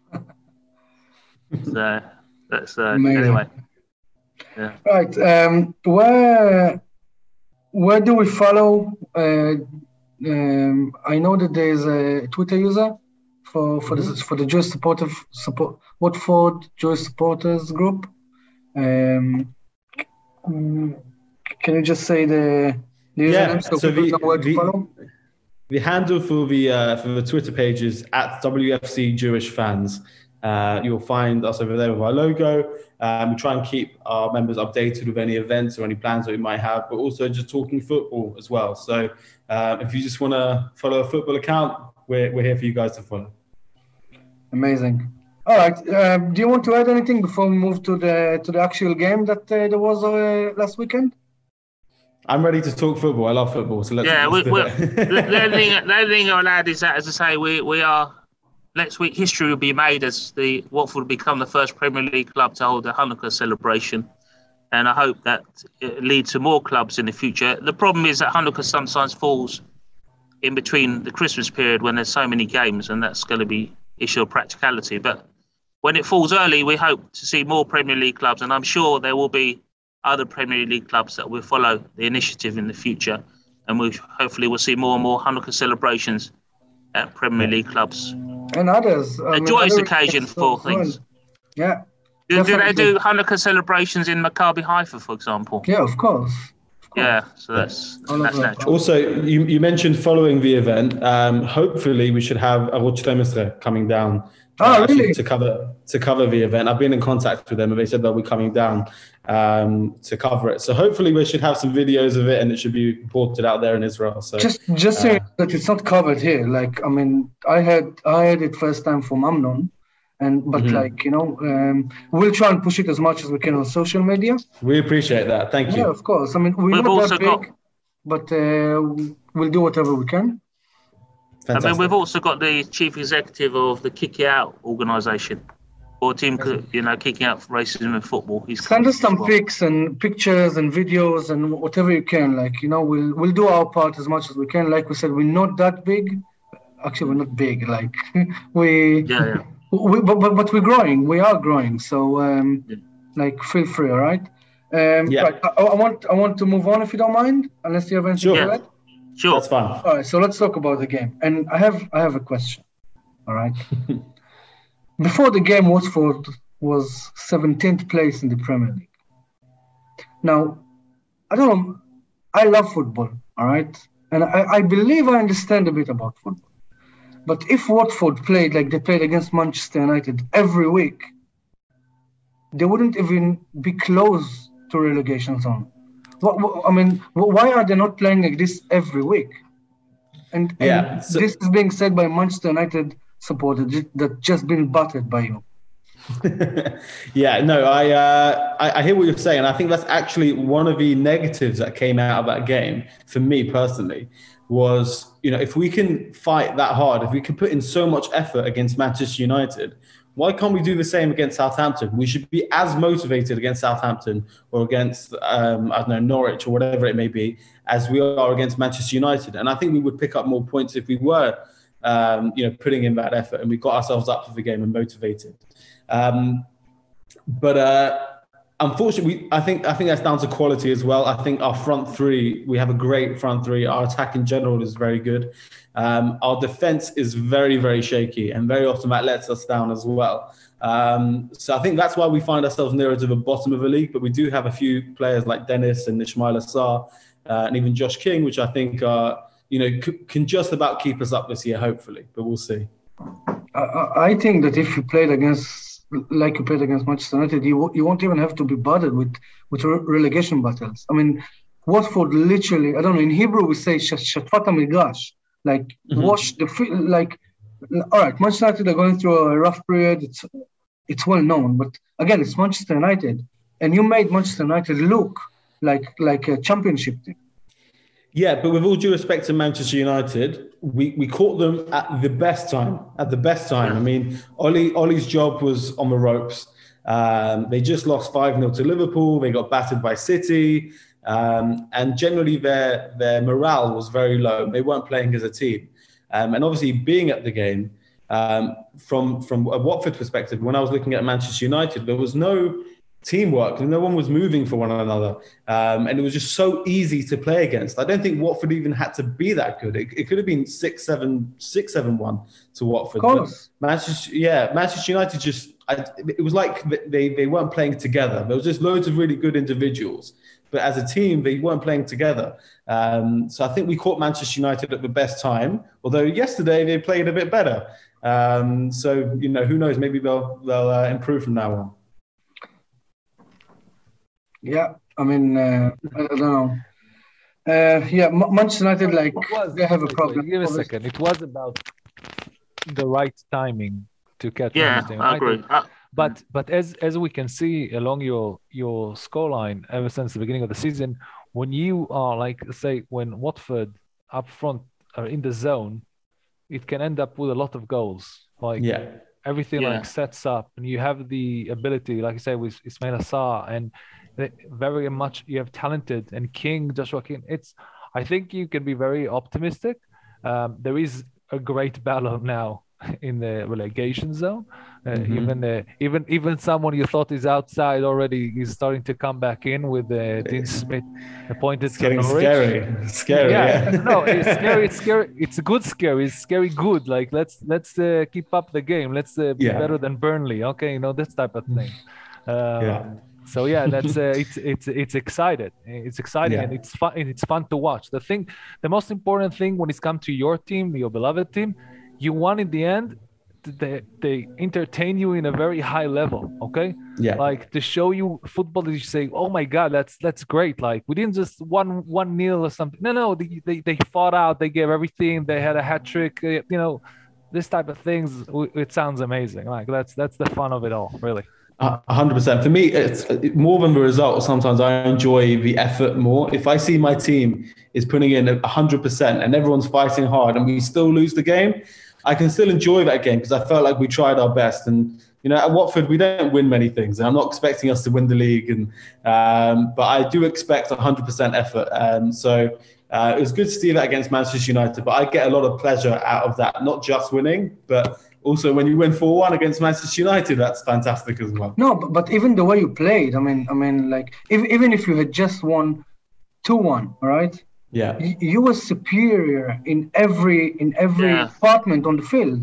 So that's uh, anyway. Yeah. Right. Um, where where do we follow? Uh, um, I know that there is a Twitter user for for mm-hmm. the for the Jewish supportive support Watford Jewish supporters group. Um, can you just say the the yeah, username so, so people the, know where to the, follow? The handle for the uh, for the Twitter page is at W F C Jewish Fans. Uh, you'll find us over there with our logo. Um, we try and keep our members updated with any events or any plans that we might have, but also just talking football as well. So uh, if you just want to follow a football account, we're we're here for you guys to follow. Amazing. All right. Uh, do you want to add anything before we move to the to the actual game that uh, there was uh, last weekend? I'm ready to talk football. I love football, so let's. Yeah, let's we, do we, it. the only thing the only thing I'll add is that, as I say, we we are next week. History will be made as the Watford will become the first Premier League club to hold a Hanukkah celebration, and I hope that it leads to more clubs in the future. The problem is that Hanukkah sometimes falls in between the Christmas period when there's so many games, and that's going to be issue of practicality. But when it falls early, we hope to see more Premier League clubs, and I'm sure there will be other Premier League clubs that will follow the initiative in the future, and we hopefully will see more and more Hanukkah celebrations at Premier League clubs. And others. I A mean, joyous other occasion for as well. things. Yeah. Do, do they definitely. do Hanukkah celebrations in Maccabi Haifa, for example? Yeah, of course. Of course. Yeah, so that's All that's over. natural. Also, you, you mentioned following the event. Um, hopefully, we should have Arutz twelve coming down. Oh, uh, actually really? To cover to cover the event. I've been in contact with them, and they said they'll be coming down um, to cover it. So hopefully, we should have some videos of it, and it should be reported out there in Israel. So Just just uh, saying that it's not covered here. Like, I mean, I had I had it first time from Amnon, and but Mhm. like you know, um, we'll try and push it as much as we can on social media. we appreciate that. Thank Yeah, you. of course. I mean, we're We've not also that big, got- but uh, we'll do whatever we can. I mean, Fantastic. we've also got the chief executive of the Kick It Out organisation, or team, you know, kicking out racism in football. He's Send us as some well. pics and pictures and videos and whatever you can. Like, you know, we'll we'll do our part as much as we can. Like we said, we're not that big. Actually, we're not big. Like we, Yeah, yeah. we but, but but we're growing. We are growing. So um, Yeah. like, feel free. All right. Um, Yeah. Right. I, I want I want to move on if you don't mind, unless you have anything Sure. to add. Sure. That's fine. All right, so let's talk about the game. And I have I have a question. All right. Before the game, Watford was seventeenth place in the Premier League. Now, I don't know. I love football. All right, and I, I believe I understand a bit about football. But if Watford played like they played against Manchester United every week, they wouldn't even be close to relegation zone. What, what, I mean, why are they not playing like this every week? And, and Yeah, so- this is being said by Manchester United supporters that just been battered by you. Yeah, no, I, uh, I I hear what you're saying. I think that's actually one of the negatives that came out of that game for me personally. Was, you know, if we can fight that hard, if we can put in so much effort against Manchester United, why can't we do the same against Southampton? We should be as motivated against Southampton or against, um, I don't know, Norwich or whatever it may be, as we are against Manchester United. And I think we would pick up more points if we were, um, you know, putting in that effort and we got ourselves up for the game and motivated. Um, but uh, unfortunately, I think I think that's down to quality as well. I think our front three, we have a great front three. Our attack in general is very good. Um, our defense is very, very shaky, and very often that lets us down as well. Um, so I think that's why we find ourselves nearer to the bottom of the league. But we do have a few players like Dennis and Ismail Assar, uh, and even Josh King, which I think are, you know, c- can just about keep us up this year, hopefully. But we'll see. I, I I think that if you played against, like you played against Manchester United, you, wo- you won't even have to be bothered with, with re- relegation battles. I mean, Watford literally, I don't know, in Hebrew we say Shatfat Migrash, like Mhm. wash the field, like, all right, Manchester United are going through a rough period. It's it's well known, but again, it's Manchester United, and you made Manchester United look like like a championship team. Yeah, but with all due respect to Manchester United, we, we caught them at the best time. At the best time. I mean, Ollie Ollie's job was on the ropes. Um, they just lost five nil to Liverpool. They got battered by City. Um, and generally their their morale was very low. They weren't playing as a team. Um, and obviously being at the game, um, from, from a Watford perspective, when I was looking at Manchester United, there was no teamwork and no one was moving for one another. Um, and it was just so easy to play against. I don't think Watford even had to be that good. It, it could have been six, seven, six, seven, one to Watford. Of course. But Manchester, yeah, Manchester United just, I, it was like they, they weren't playing together. There was just loads of really good individuals, but as a team, they weren't playing together. Um, so I think we caught Manchester United at the best time, although yesterday they played a bit better. Um, so, you know, who knows, maybe they'll, they'll uh, improve from now on. Yeah, I mean, uh, I don't know. Uh, yeah, M- Manchester United, like, was, they have a wait, problem. Wait, give a second. It was about the right timing to catch Yeah, Manchester I United. agree. Uh, But but as as we can see along your your scoreline ever since the beginning of the season, when you are like say when Watford up front are in the zone, it can end up with a lot of goals. Like Yeah. everything Yeah. like sets up, and you have the ability, like I say, with Ismail Assar, and they- very much you have talented and King, Joshua King. It's I think you can be very optimistic. Um, there is a great battle now in the relegation zone. Uh, Mhm. Even uh, even even someone you thought is outside already is starting to come back in with uh, Dean Smith appointed It's to getting Norwich. scary. Scary, Yeah, yeah. no, it's scary. It's scary. It's a good scary. It's scary good. Like let's let's uh, keep up the game. Let's uh, be Yeah. better than Burnley. Okay, you know this type of thing. Um, Yeah. So yeah, that's uh, it's it's it's excited. It's exciting Yeah. and it's fun. And it's fun to watch. The thing, the most important thing when it's come to your team, your beloved team, you won in the end. They they entertain you in a very high level. Okay. Yeah. Like to show you football that you say, oh my God, that's that's great. Like we didn't just one one nil or something. No, no, they, they they fought out. They gave everything. They had a hat trick. uh, You know, this type of things. w- It sounds amazing. Like that's that's the fun of it all, really. A hundred percent. For me, it's it- more than the result. Sometimes I enjoy the effort more. If I see my team is putting in a hundred percent and everyone's fighting hard and we still lose the game, I can still enjoy that game because I felt like we tried our best. And you know, at Watford, we don't win many things, and I'm not expecting us to win the league. And um, but I do expect a hundred percent effort. Um, so uh, it was good to see that against Manchester United. But I get a lot of pleasure out of that, not just winning, but also when you win four one against Manchester United, that's fantastic as well. No, but, but even the way you played, I mean, I mean, like, if, even if you had just won two one, all right? Yeah. You, you were superior in every in every Yeah. department on the field.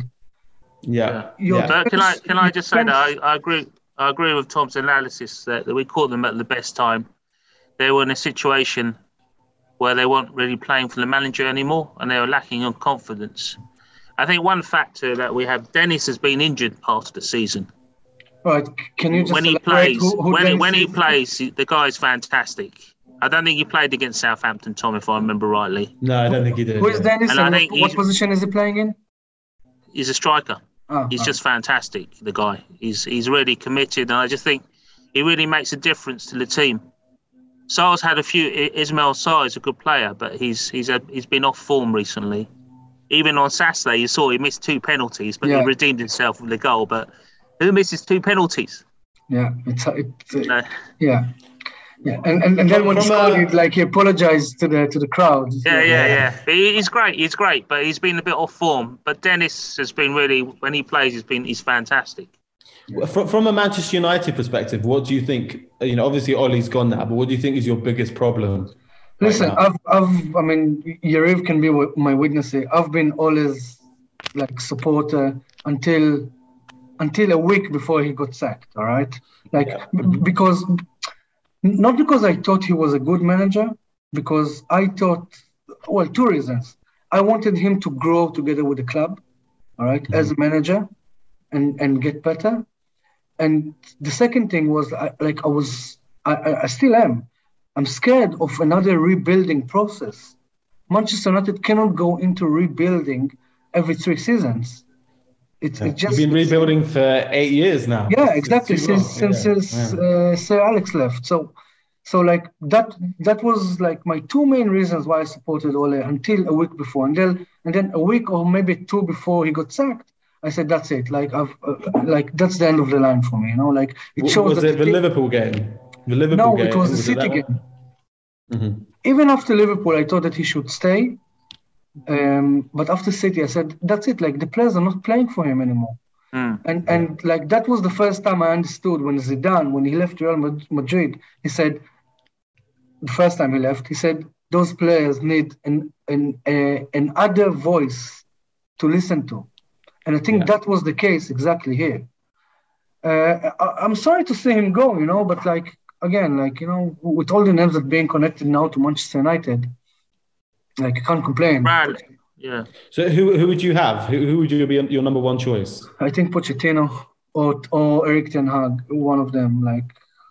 Yeah. Your Yeah. But can I defense- can I just say that defense- I, I agree I agree with Tom's analysis that, that we caught them at the best time. They were in a situation where they weren't really playing for the manager anymore, and they were lacking on confidence. I think one factor that we have, Dennis has been injured part of the season. Right? Can you just When he elaborate plays, who, who when Dennis when he is? plays, he- the guy's fantastic. I don't think he played against Southampton, Tom, if I remember rightly. No, I don't think he did. Who is yeah. Dennis? And And, I what, think what he's- position is he playing in? He's a striker. Ah, He's ah. just fantastic, the guy. He's he's really committed, and I just think he really makes a difference to the team. Sar's had a few. I- Ismail Sarr is a good player, but he's he's a, he's been off form recently. Even on Saturday, you saw he missed two penalties, but Yeah. he redeemed himself with the goal. But who misses two penalties? Yeah, it's, it's uh, No. yeah, yeah. And and, and then when he From, scored, uh, he like he apologized to the to the crowd. Yeah, yeah, Yeah. yeah. But he- he's great. He's great, but he's been a bit off form. But Dennis has been really, when he plays, he's been he's fantastic. From, from a Manchester United perspective, what do you think? You know, obviously Ollie's gone now, but what do you think is your biggest problem? right Listen, now? I've, I've, I mean, Yariv can be my witness here. I've been always like supporter until, until a week before he got sacked. All right, like Yeah. b- because, not because I thought he was a good manager, because I thought, well, two reasons. I wanted him to grow together with the club, all right, as a manager, and and get better. And the second thing was, I, like, I was, I, I I still am. I'm scared of another rebuilding process. Manchester United cannot go into rebuilding every three seasons. It's it just You've been rebuilding for eight years now. yeah, It's- it's exactly. too Since long. since, Yeah, since yeah. uh, Sir Alex left, so so like that that was like my two main reasons why I supported Ole until a week before, and then and then a week or maybe two before he got sacked. I said that's it. Like I've uh, like that's the end of the line for me. You know, like it W- shows Was that it the team- Liverpool game? The Liverpool No, game. it was the it City that one? game. Mhm. Even after Liverpool, I thought that he should stay. Um, but after City, I said, that's it. Like, the players are not playing for him anymore. Mm. And and like that was the first time I understood when Zidane, when he left Real Mad- Madrid, he said, the first time he left, he said, those players need an an a, an other voice to listen to. And I think Yeah. that was the case exactly here. Uh, I, I'm sorry to see him go, you know, but like, again, like, you know, with all the names that being connected now to Manchester United, like, I can't complain. Right. Yeah. So who who would you have? Who, who would you be your number one choice? I think Pochettino or or Erik ten Hag, one of them, like,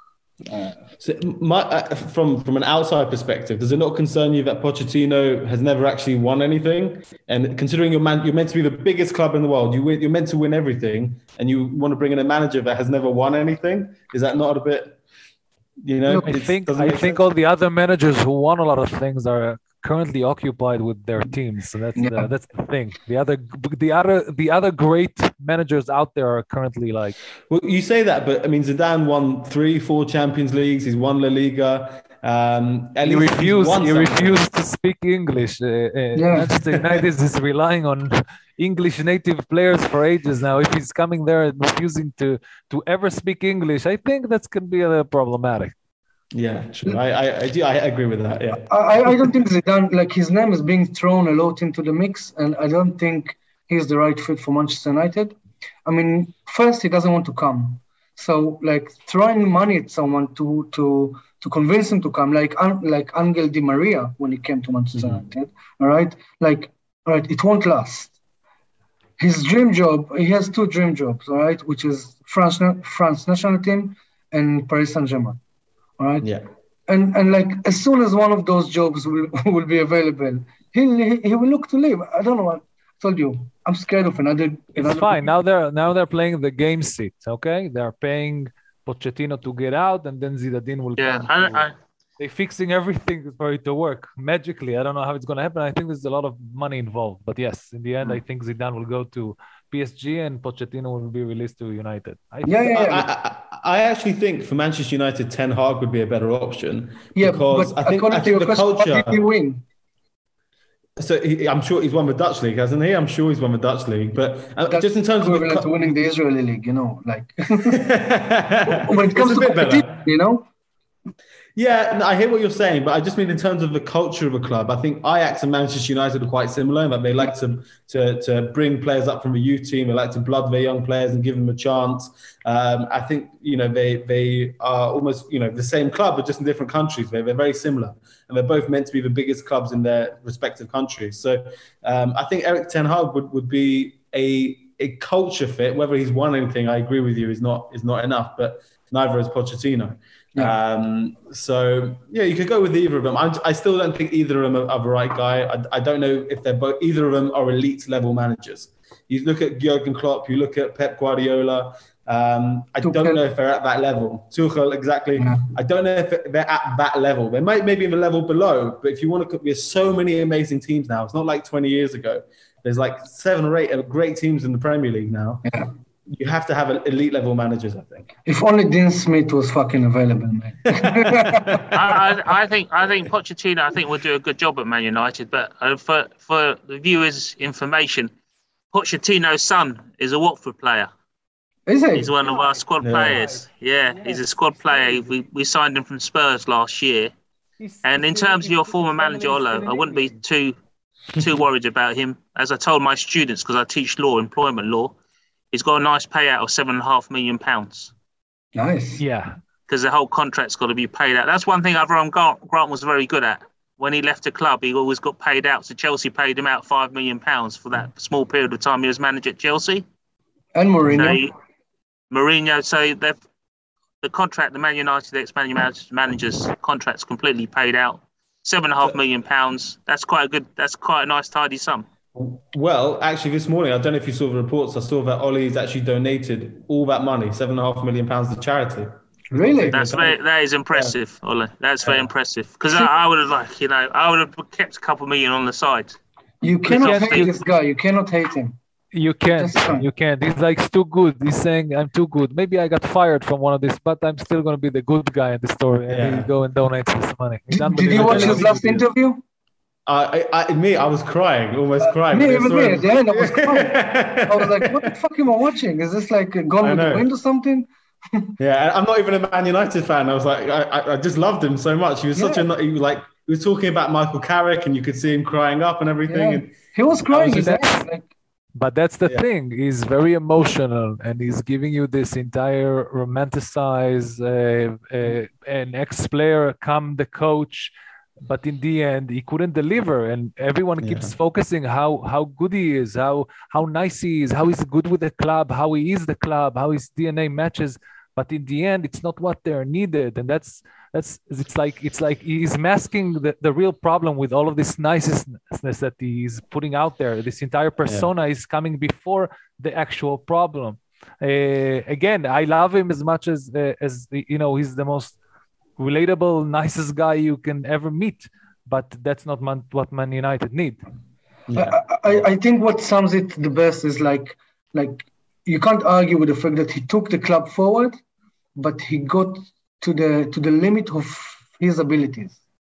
So my, uh, from from an outside perspective, does it not concern you that Pochettino has never actually won anything? And considering you're man, you're meant to be the biggest club in the world, you win, you're meant to win everything, and you want to bring in a manager that has never won anything? Is that not a bit, you know? I it's- think doesn't I make think sense? all the other managers who won a lot of things are currently occupied with their teams. So that's Yeah. the, that's the thing. The other the other the other great managers out there are currently like Well, you say that, but I mean, Zidane won three, four Champions Leagues. He's won La Liga. Um, at he least he's refused won he something. refused to speak English. Uh, uh, Yeah. Manchester United is relying on English native players for ages now. If he's coming there and refusing to to ever speak English, I think that's can be uh, problematic. Yeah, sure. I, I, I do. I agree with that. Yeah. I, I don't think Zidane, like, his name is being thrown a lot into the mix, and I don't think he's the right fit for Manchester United. I mean, first, he doesn't want to come. So, like, throwing money at someone to to to convince him to come, like like Angel Di Maria when he came to Manchester Mhm. United, all right? Like, all right, it won't last. His dream job, he has two dream jobs, all right, which is France, France national team and Paris Saint-Germain, all right? Yeah. And and like as soon as one of those jobs will, will be available, he he will look to leave. I don't know. I told you, I'm scared of another. It's another fine. Now they're now they're playing the game seat. Okay, they're paying Pochettino to get out, and then Zidane will Yeah. come. I, to- I, They're fixing everything for it to work magically. I don't know how it's going to happen. I think there's a lot of money involved. But yes, in the end, I think Zidane will go to P S G and Pochettino will be released to United. I think Yeah, yeah, I, yeah. I, I actually think for Manchester United, Ten Hag would be a better option. Yeah, because but I think according I to think your the question, what culture. did he win? So he, I'm sure he's won the Dutch league, hasn't he? I'm sure he's won the Dutch league. But uh, That's just in terms of the equivalent to cu- winning the Israeli league, you know, like when it It's comes a to bit better. competition, you know. Yeah, no, I hear what you're saying, but I just mean in terms of the culture of a club. I think Ajax and Manchester United are quite similar in that they like to to to bring players up from the youth team. They like to blood their young players and give them a chance. Um, I think you know they they are almost you know the same club, but just in different countries. They're, they're very similar, and they're both meant to be the biggest clubs in their respective countries. So um, I think Erik ten Hag would, would be a a culture fit. Whether he's won anything, I agree with you, is not is not enough, but neither is Pochettino. Yeah. Um, so yeah, you could go with either of them. I, I still don't think either of them are, are the right guy. I, I don't know if they're both. Either of them are elite level managers. You look at Jurgen Klopp. You look at Pep Guardiola. Um, I Tuchel. don't know if they're at that level. Tuchel, exactly. Yeah. I don't know if they're at that level. They might maybe in the level below. But if you want to, there's so many amazing teams now. It's not like twenty years ago. There's like seven or eight great teams in the Premier League now. Yeah. You have to have elite level managers, I think. If only Dean Smith was fucking available, man. I, I, I think I think Pochettino I think will do a good job at Man United. But uh, for for the viewers' information, Pochettino's son is a Watford player. Is it? He's one of our squad Yeah. players. Yeah, he's a squad player. We we signed him from Spurs last year. And in terms of your former manager, Olo, I wouldn't be too too worried about him. As I told my students, because I teach law, employment law, he's got a nice payout of seven and a half million pounds Nice. Yeah. because the whole contract's got to be paid out. That's one thing Avram Grant, Grant was very good at. When he left the club, he always got paid out. So Chelsea paid him out five million pounds for that small period of time he was manager at Chelsea. And So Mourinho. he- Mourinho, so they've the contract, the Man United ex-Man United manager's contract's completely paid out. Seven and a half million pounds. That's quite a good. That's quite a nice, tidy sum. Well, actually, this morning, I don't know if you saw the reports. I saw that Ollie's actually donated all that money, seven and a half million pounds to charity. Really? That's very, that is impressive, Ole. That's very Yeah. impressive. Because I, I would have like, you know, I would have kept a couple million on the side. You cannot can't hate think- this guy. You cannot hate him. You can't. Just can't. You can't. He's like, it's too good. He's saying, I'm too good. Maybe I got fired from one of this, but I'm still going to be the good guy in the story. And Yeah. he go and donates his money. He's Did, did you watch unbelievable. his last interview? I, I, me, I was crying, almost crying. Me, when I even saw me, him. at the end, I was crying. I was like, what the fuck am I watching? Is this like Gone I with the know. Wind or something? Yeah, and I'm not even a Man United fan. I was like, I, I- I just loved him so much. He was such Yeah. a, he was like, he was talking about Michael Carrick, and you could see him crying up and everything. Yeah. And He was crying. was His just- eyes, like, But that's the Yeah. thing. He's very emotional, and he's giving you this entire romanticized uh, uh, an ex-player come the coach, but in the end he couldn't deliver, and everyone keeps Yeah. focusing how how good he is, how how nice he is, how he's good with the club, how he is the club, how his D N A matches. But in the end, it's not what they're needed, and that's that's it's like it's like he's masking the, the real problem with all of this niceness that he's putting out there. This entire persona is coming before the actual problem. Uh, again, I love him as much as uh, as you know he's the most relatable, nicest guy you can ever meet. But that's not man, what Man United need. yeah. I, I, I think what sums it the best is like like you can't argue with the fact that he took the club forward, but he got to the to the limit of his abilities.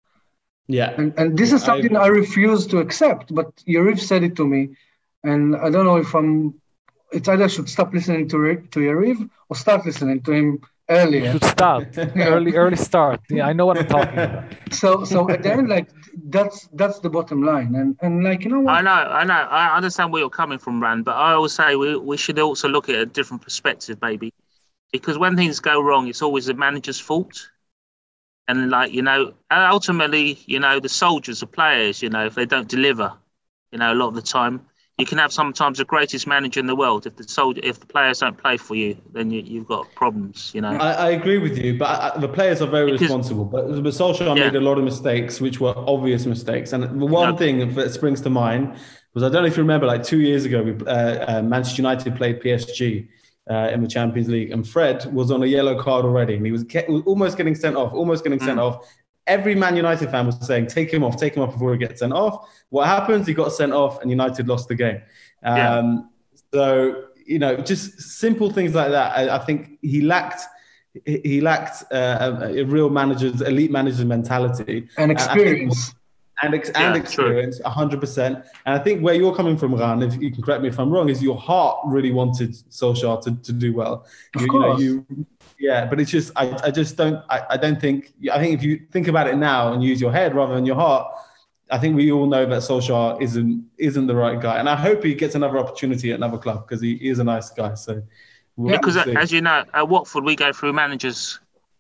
yeah. And and this Yeah, is I something I, refuse to accept. But Yariv said it to me, and I don't know if I'm. It's either I should stop listening to Ri- to Yariv or start listening to him You earlier. should start early, early start. Yeah, I know what I'm talking about. So so at the end, like that's that's the bottom line. And and like you know I what? know, I know. I understand where you're coming from, Rand, but I always say we, we should also look at a different perspective, maybe. Because when things go wrong, it's always the manager's fault. And, like, you know, ultimately, you know, the soldiers, the players, you know, if they don't deliver, you know, a lot of the time, you can have sometimes the greatest manager in the world. If the soldier, if the players don't play for you, then you, you've got problems, you know. I, I agree with you, but I, the players are very Because- responsible. But, but Solskjaer Yeah. made a lot of mistakes, which were obvious mistakes. And the one Yeah. thing that springs to mind was, I don't know if you remember, like two years ago, we, uh, uh, Manchester United played P S G uh, in the Champions League, and Fred was on a yellow card already, and he was, ke- was almost getting sent off, almost getting sent Mm. off. Every Man United fan was saying, take him off, take him off before he gets sent off. What happens? He got sent off, and United lost the game. Um, Yeah. So, you know, just simple things like that. I, I think he lacked he he lacked uh, a, a real manager's, elite manager's mentality. And I think- experience. and ex- Yeah, and true. experience, one hundred percent. And I think where you're coming from, Ran, if you can correct me if I'm wrong, is your heart really wanted Solskjaer to, to do well. Of You, you know, course. you, yeah, but it's just, I, I just don't, I, I don't think, I think if you think about it now and use your head rather than your heart, I think we all know that Solskjaer isn't isn't the right guy. And I hope he gets another opportunity at another club, because he, he is a nice guy. So we'll Because, see. as you know, at Watford, we go through managers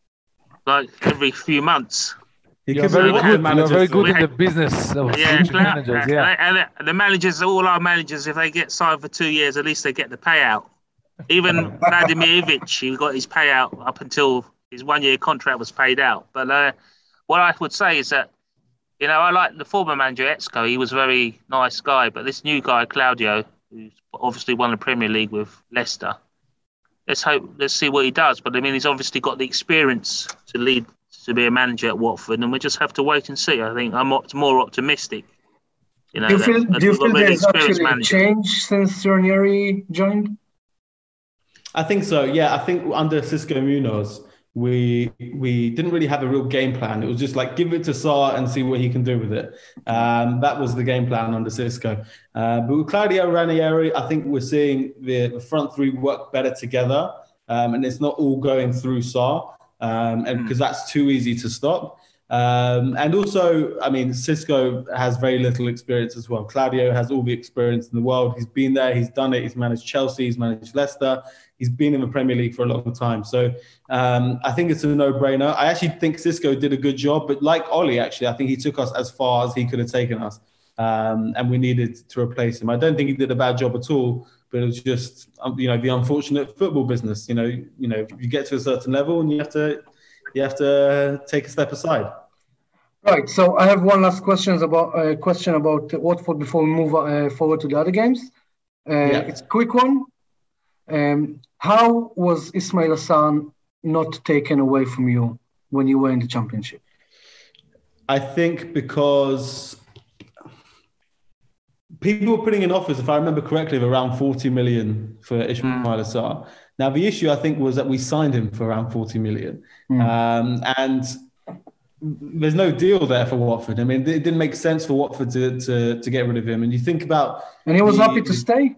like every few months. He You're could very be good. manager You're very too. good in the business of Yeah, switching clout- managers. Yeah. and, and the managers, all our managers, if they get signed for two years, at least they get the payout. Even Vladimir Ivic, he got his payout up until his one-year contract was paid out. But uh, what I would say is that, you know, I like the former manager, Etzko. He was a very nice guy. But this new guy, Claudio, who's obviously won the Premier League with Leicester, let's hope, let's see what he does. But I mean, he's obviously got the experience to lead, to be a manager at Watford, and we just have to wait and see. I think I'm op- more optimistic. You know, Do you that- feel that do you we've got feel really there's experienced actually a managers. change since Ranieri joined? I think so. Yeah, I think under Cisco Munoz, we we didn't really have a real game plan. It was just like, give it to Sarr and see what he can do with it. Um, that was the game plan under Cisco. Uh, but with Claudio Ranieri, I think we're seeing the, the front three work better together, um, and it's not all going through Sarr, um, and because that's too easy to stop. Um, and also, I mean, Cisco has very little experience as well. Claudio has all the experience in the world. He's been there, he's done it. He's managed Chelsea, he's managed Leicester. He's been in the Premier League for a long time. So um, I think it's a no-brainer. I actually think Cisco did a good job, but like Ollie, actually, I think he took us as far as he could have taken us, um, and we needed to replace him. I don't think he did a bad job at all, but it was just, um, you know, the unfortunate football business. You know, you know, you get to a certain level and you have to, you have to take a step aside. Right. So I have one last questions about uh, question about Watford before we move uh, forward to the other games. Uh, Yeah. It's a quick one. Um, how was Ismail Hassan not taken away from you when you were in the Championship? I think because people were putting in offers, if I remember correctly, of around forty million for Ismail mm. Assar. Now, the issue, I think, was that we signed him for around forty million. Mm. Um, and there's no deal there for Watford. I mean, it didn't make sense for Watford to, to, to get rid of him. And you think about... And he was the, happy to stay?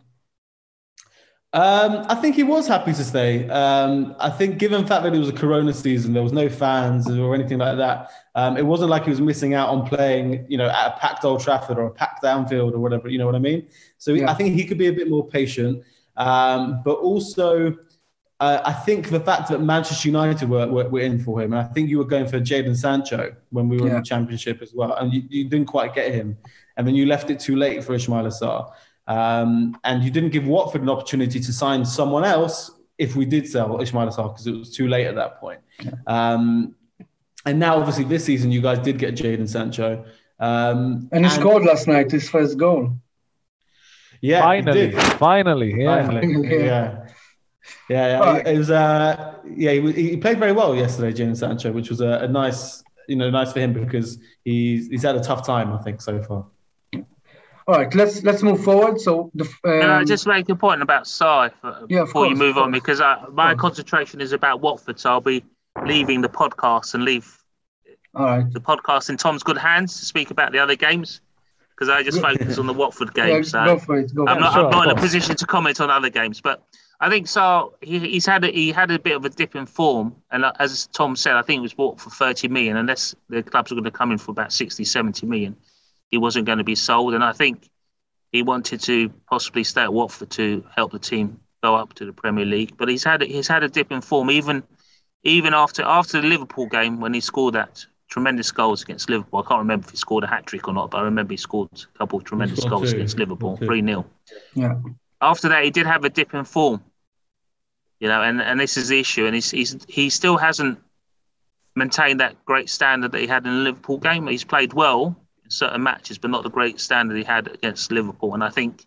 Um, I think he was happy to stay. Um, I think given the fact that it was a Corona season, there was no fans or anything like that. Um, it wasn't like he was missing out on playing, you know, at a packed Old Trafford or a packed Anfield or whatever, you know what I mean? So yeah. I think he could be a bit more patient. Um, but also, uh, I think the fact that Manchester United were, were, were in for him, and I think you were going for Jadon Sancho when we were yeah. in the Championship as well, and you, you didn't quite get him. And then you left it too late for Ismail Assar. Um, and you didn't give Watford an opportunity to sign someone else if we did sell Ismail Assar because it was too late at that point. Um, and now, obviously, this season, you guys did get Jadon Sancho. Um, and he and, scored last night, his first goal. Yeah, finally, finally, yeah. Finally, yeah. yeah. Yeah, yeah. Right. It was. Uh, yeah, he, he played very well yesterday, Jadon Sancho, which was a, a nice, you know, nice for him because he's he's had a tough time, I think, so far. All right, let's let's move forward. So, the, um, can I just make a point about Sarr yeah, before course, you move on? Because I, my concentration is about Watford, so I'll be leaving the podcast and leave All right. the podcast in Tom's good hands to speak about the other games. Because I just focus on the Watford game, yeah, so go for it, go I'm for not, it. I'm not in a position to comment on other games. But I think Sarr, he, he's had a, he had a bit of a dip in form, and as Tom said, I think it was bought for thirty million. Unless the clubs are going to come in for about sixty, seventy million, he wasn't going to be sold. And I think he wanted to possibly stay at Watford to help the team go up to the Premier League. But he's had he's had a dip in form, even even after after the Liverpool game when he scored that tremendous goals against Liverpool. I can't remember if he scored a hat-trick or not, but I remember he scored a couple of tremendous goals two. against Liverpool, three nil. Yeah. After that, he did have a dip in form, you know, and, and this is the issue. And he's, he's he still hasn't maintained that great standard that he had in the Liverpool game. He's played well in certain matches, but not the great standard he had against Liverpool. And I think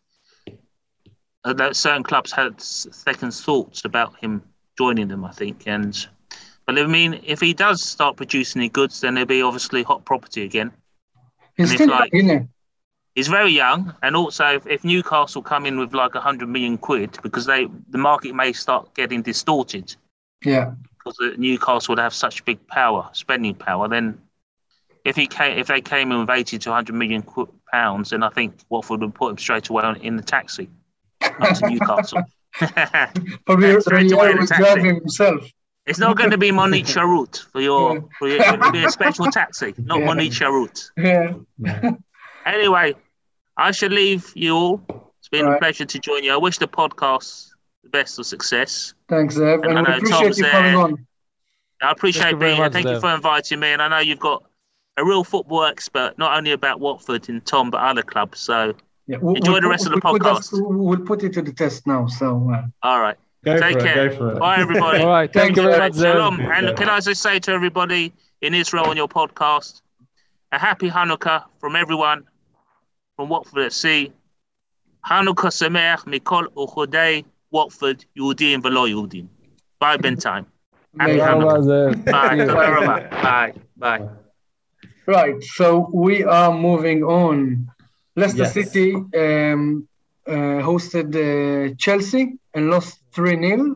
that certain clubs had second thoughts about him joining them, I think. And But I mean, if he does start producing any goods, then he'll be obviously hot property again. He's still like, young, he's very young, and also if, if Newcastle come in with like a hundred million quid, because they the market may start getting distorted. Yeah. Because Newcastle would have such big power, spending power. Then, if he came, if they came in with eighty to hundred million pounds, then I think Watford would put him straight away on, in the taxi up to Newcastle. Probably straight away in the taxi himself. It's not going to be Monique Charout for your, yeah. for your it'll be a special taxi, not yeah. Monique Charout. Yeah. Anyway, I should leave you all. It's been all a right. pleasure to join you. I wish the podcast the best of success. Thanks, Zev. And, and I appreciate Tom's you coming there. on. I appreciate being here. Thank Zev. you for inviting me. And I know you've got a real football expert, not only about Watford and Tom, but other clubs. So yeah, we'll, enjoy we'll, the rest we'll, of the we'll podcast. Put us, we'll put it to the test now. So uh... all right. Go Take for care. It, go for it. Bye, everybody. All right. Thank, thank you very much, Shalom. And can I just say to everybody in Israel on your podcast, a happy Hanukkah from everyone from Watford at Sea. Hanukkah Sameach Mikol Uchodei Watford Yehudim V'lo Yehudim. Bye, Bentime. Happy Hanukkah. Bye. Bye. Bye. Right. So we are moving on. Leicester yes. City um, uh, hosted uh, Chelsea and lost three nil.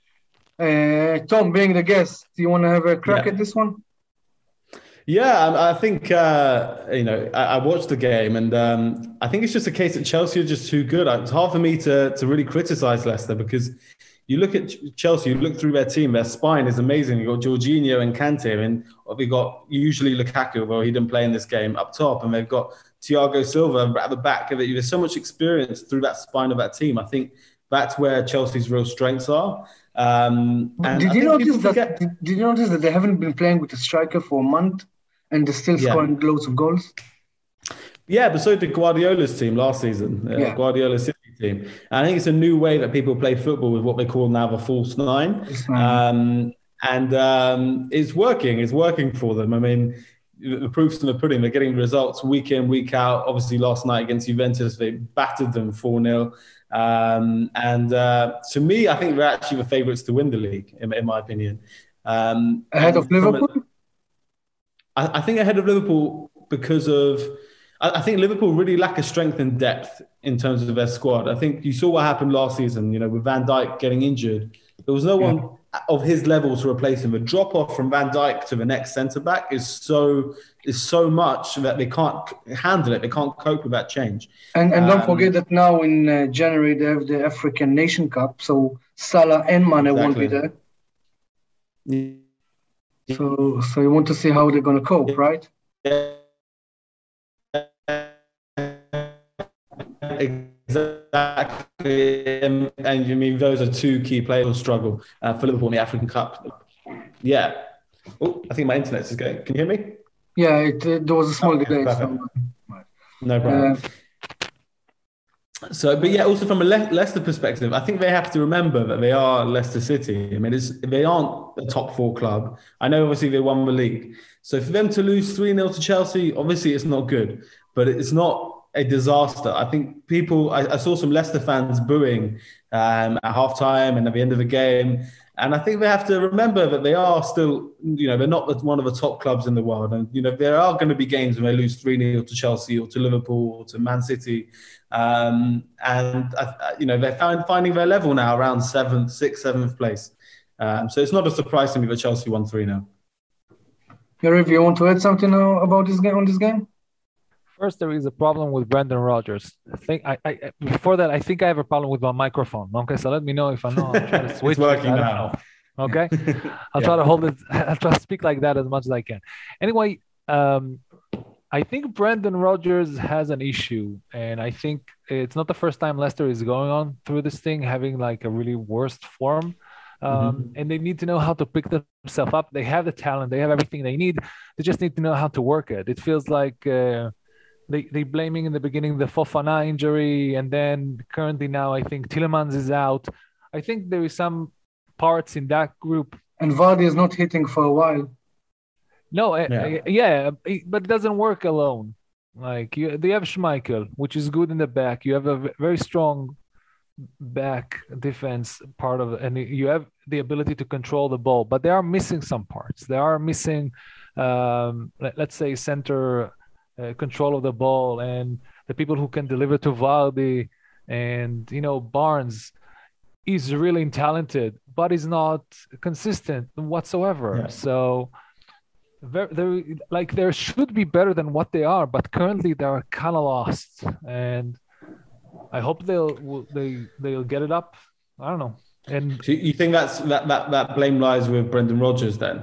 Uh, Tom, being the guest, do you want to have a crack yeah. at this one? Yeah, I think, uh, you know, I, I watched the game and um, I think it's just a case that Chelsea are just too good. It's hard for me to, to really criticise Leicester because you look at Chelsea, you look through their team, their spine is amazing. You've got Jorginho and Kante, and we've got usually Lukaku, although he didn't play in this game, up top, and they've got Thiago Silva at the back. There's so much experience through that spine of that team. I think that's where Chelsea's real strengths are. Um, and did you notice that? Forget... Did, did you notice that they haven't been playing with a striker for a month, and they're still scoring yeah. loads of goals? Yeah, but so did Guardiola's team last season. Uh, yeah. Guardiola's City team. And I think it's a new way that people play football with what they call now the false nine, um, and um, it's working. It's working for them. I mean, the proof's in the pudding. They're getting results week in, week out. Obviously, last night against Juventus, they battered them four nil. Um, and uh, to me, I think they're actually the favourites to win the league, in, in my opinion. Um, ahead of Liverpool? A, I, I think ahead of Liverpool because of... I, I think Liverpool really lack a strength and depth in terms of their squad. I think you saw what happened last season, you know, with Van Dijk getting injured. There was no Yeah. one of his level to replace him. The drop off from Van Dijk to the next centre back is so is so much that they can't handle it. They can't cope with that change. And and don't Um, forget that now in uh, January they have the African Nation Cup, so Salah and Mane won't be Exactly. there. So so you want to see how they're gonna cope, right? Exactly, and, and you mean those are two key players who struggle uh, for Liverpool in the African Cup. Yeah. Oh, I think my internet is going. Can you hear me? Yeah, it, uh, there was a small Okay, delay. perfect. So, No problem. uh, So, but yeah, also from a Le- Leicester perspective, I think they have to remember that they are Leicester City. I mean, it's, they aren't a top four club. I know, obviously, they won the league. So for them to lose three nil to Chelsea, obviously, it's not good. But it's not a disaster. I think people, I, I saw some Leicester fans booing um, at halftime and at the end of the game. And I think they have to remember that they are still, you know, they're not one of the top clubs in the world. And, you know, there are going to be games when they lose three nil to Chelsea or to Liverpool or to Man City. Um, and, uh, you know, they're find, finding their level now around seventh, sixth, seventh place. Um, so it's not a surprise to me that Chelsea won three nil. Yariv, you want to add something now about this game on this game? First, there is a problem with Brendan Rodgers. I think I, I before that, I think I have a problem with my microphone. Okay, so let me know if I know. I'm trying to switch. It's working I don't now. know. Okay, I'll Yeah. try to hold it. I'll try to speak like that as much as I can. Anyway, um, I think Brendan Rodgers has an issue, and I think it's not the first time Leicester is going on through this thing, having like a really worst form. Um, Mhm. And they need to know how to pick themselves up. They have the talent. They have everything they need. They just need to know how to work it. It feels like uh, they they blaming in the beginning the Fofana injury, and then currently now I think Tielemans is out. I think there is some parts in that group. And Vardy is not hitting for a while. No, uh, Yeah. uh, yeah, it- but it doesn't work alone. Like you, they have Schmeichel, which is good in the back. You have a v- very strong back defense part of it, and you have the ability to control the ball. But they are missing some parts. They are missing, um, let, let's say, center uh, control of the ball, and the people who can deliver to Vardy, and you know Barnes is really talented, but is not consistent whatsoever. Yeah. So. Very, very, like there should be better than what they are, but currently they are kind of lost, and I hope they'll will- they they'll get it up. I don't know, and So you think that's that, that, that blame lies with Brendan Rodgers then?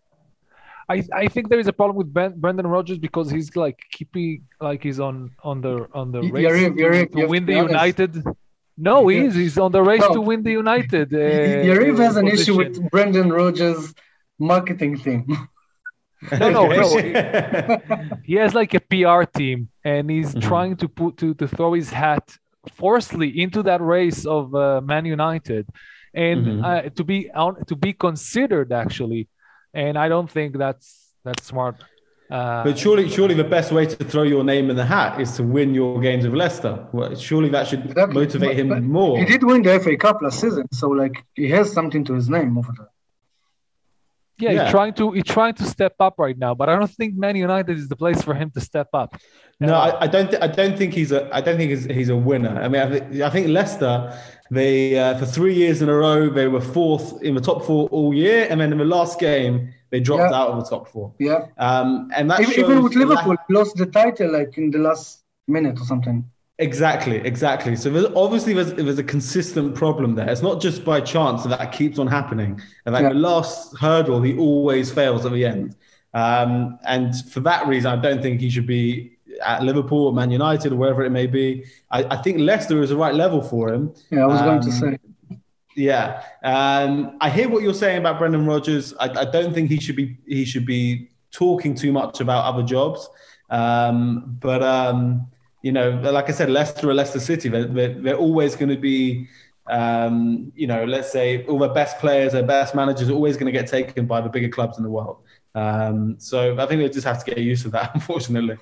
I I think there is a problem with ben, Brendan Rodgers because he's like keeping like he's on on the on the Y- race Yariv, to, Yariv, to you have win to the be honest. United. No, he is. He's on the race No. to win the United. Uh, Yariv has an issue position. with Brendan Rodgers' marketing team. No, no, no. Okay. He has like a P R team, and he's Mhm. trying to put to to throw his hat forcefully into that race of uh, Man United, and Mhm. uh, to be on to be considered actually, and I don't think that's that's smart. Uh, But surely, surely the best way to throw your name in the hat is to win your games with Leicester. Well, surely that should Exactly. motivate him But- but more. He did win the F A Cup last season, so like he has something to his name over there. yeah, he's yeah. trying to he's trying to step up right now, but I don't think Man United is the place for him to step up. No, Uh, I, I don't. Th- I don't think he's a. I don't think he's, he's a winner. I mean, I, th- I think Leicester. They uh, for three years in a row they were fourth in the top four all year, and then in the last game they dropped Yeah. out of the top four. Yeah. Um, and that Even, shows even with the lack- Liverpool, lost the title like in the last minute or something. Exactly, exactly. So there's, obviously there's, there's a consistent problem there. It's not just by chance that that keeps on happening. And like Yeah. the last hurdle, he always fails at the end. Um, and for that reason, I don't think he should be at Liverpool or Man United or wherever it may be. I, I think Leicester is the right level for him. Yeah, I was going to Um, say. Yeah, um, I hear what you're saying about Brendan Rodgers. I, I don't think he should be he should be talking too much about other jobs. Um, but um, you know, like I said, Leicester or Leicester City, they're, they're, they're always going to be, um, you know, let's say all their best players, their best managers are always going to get taken by the bigger clubs in the world. Um, so I think they just have to get used to that, unfortunately.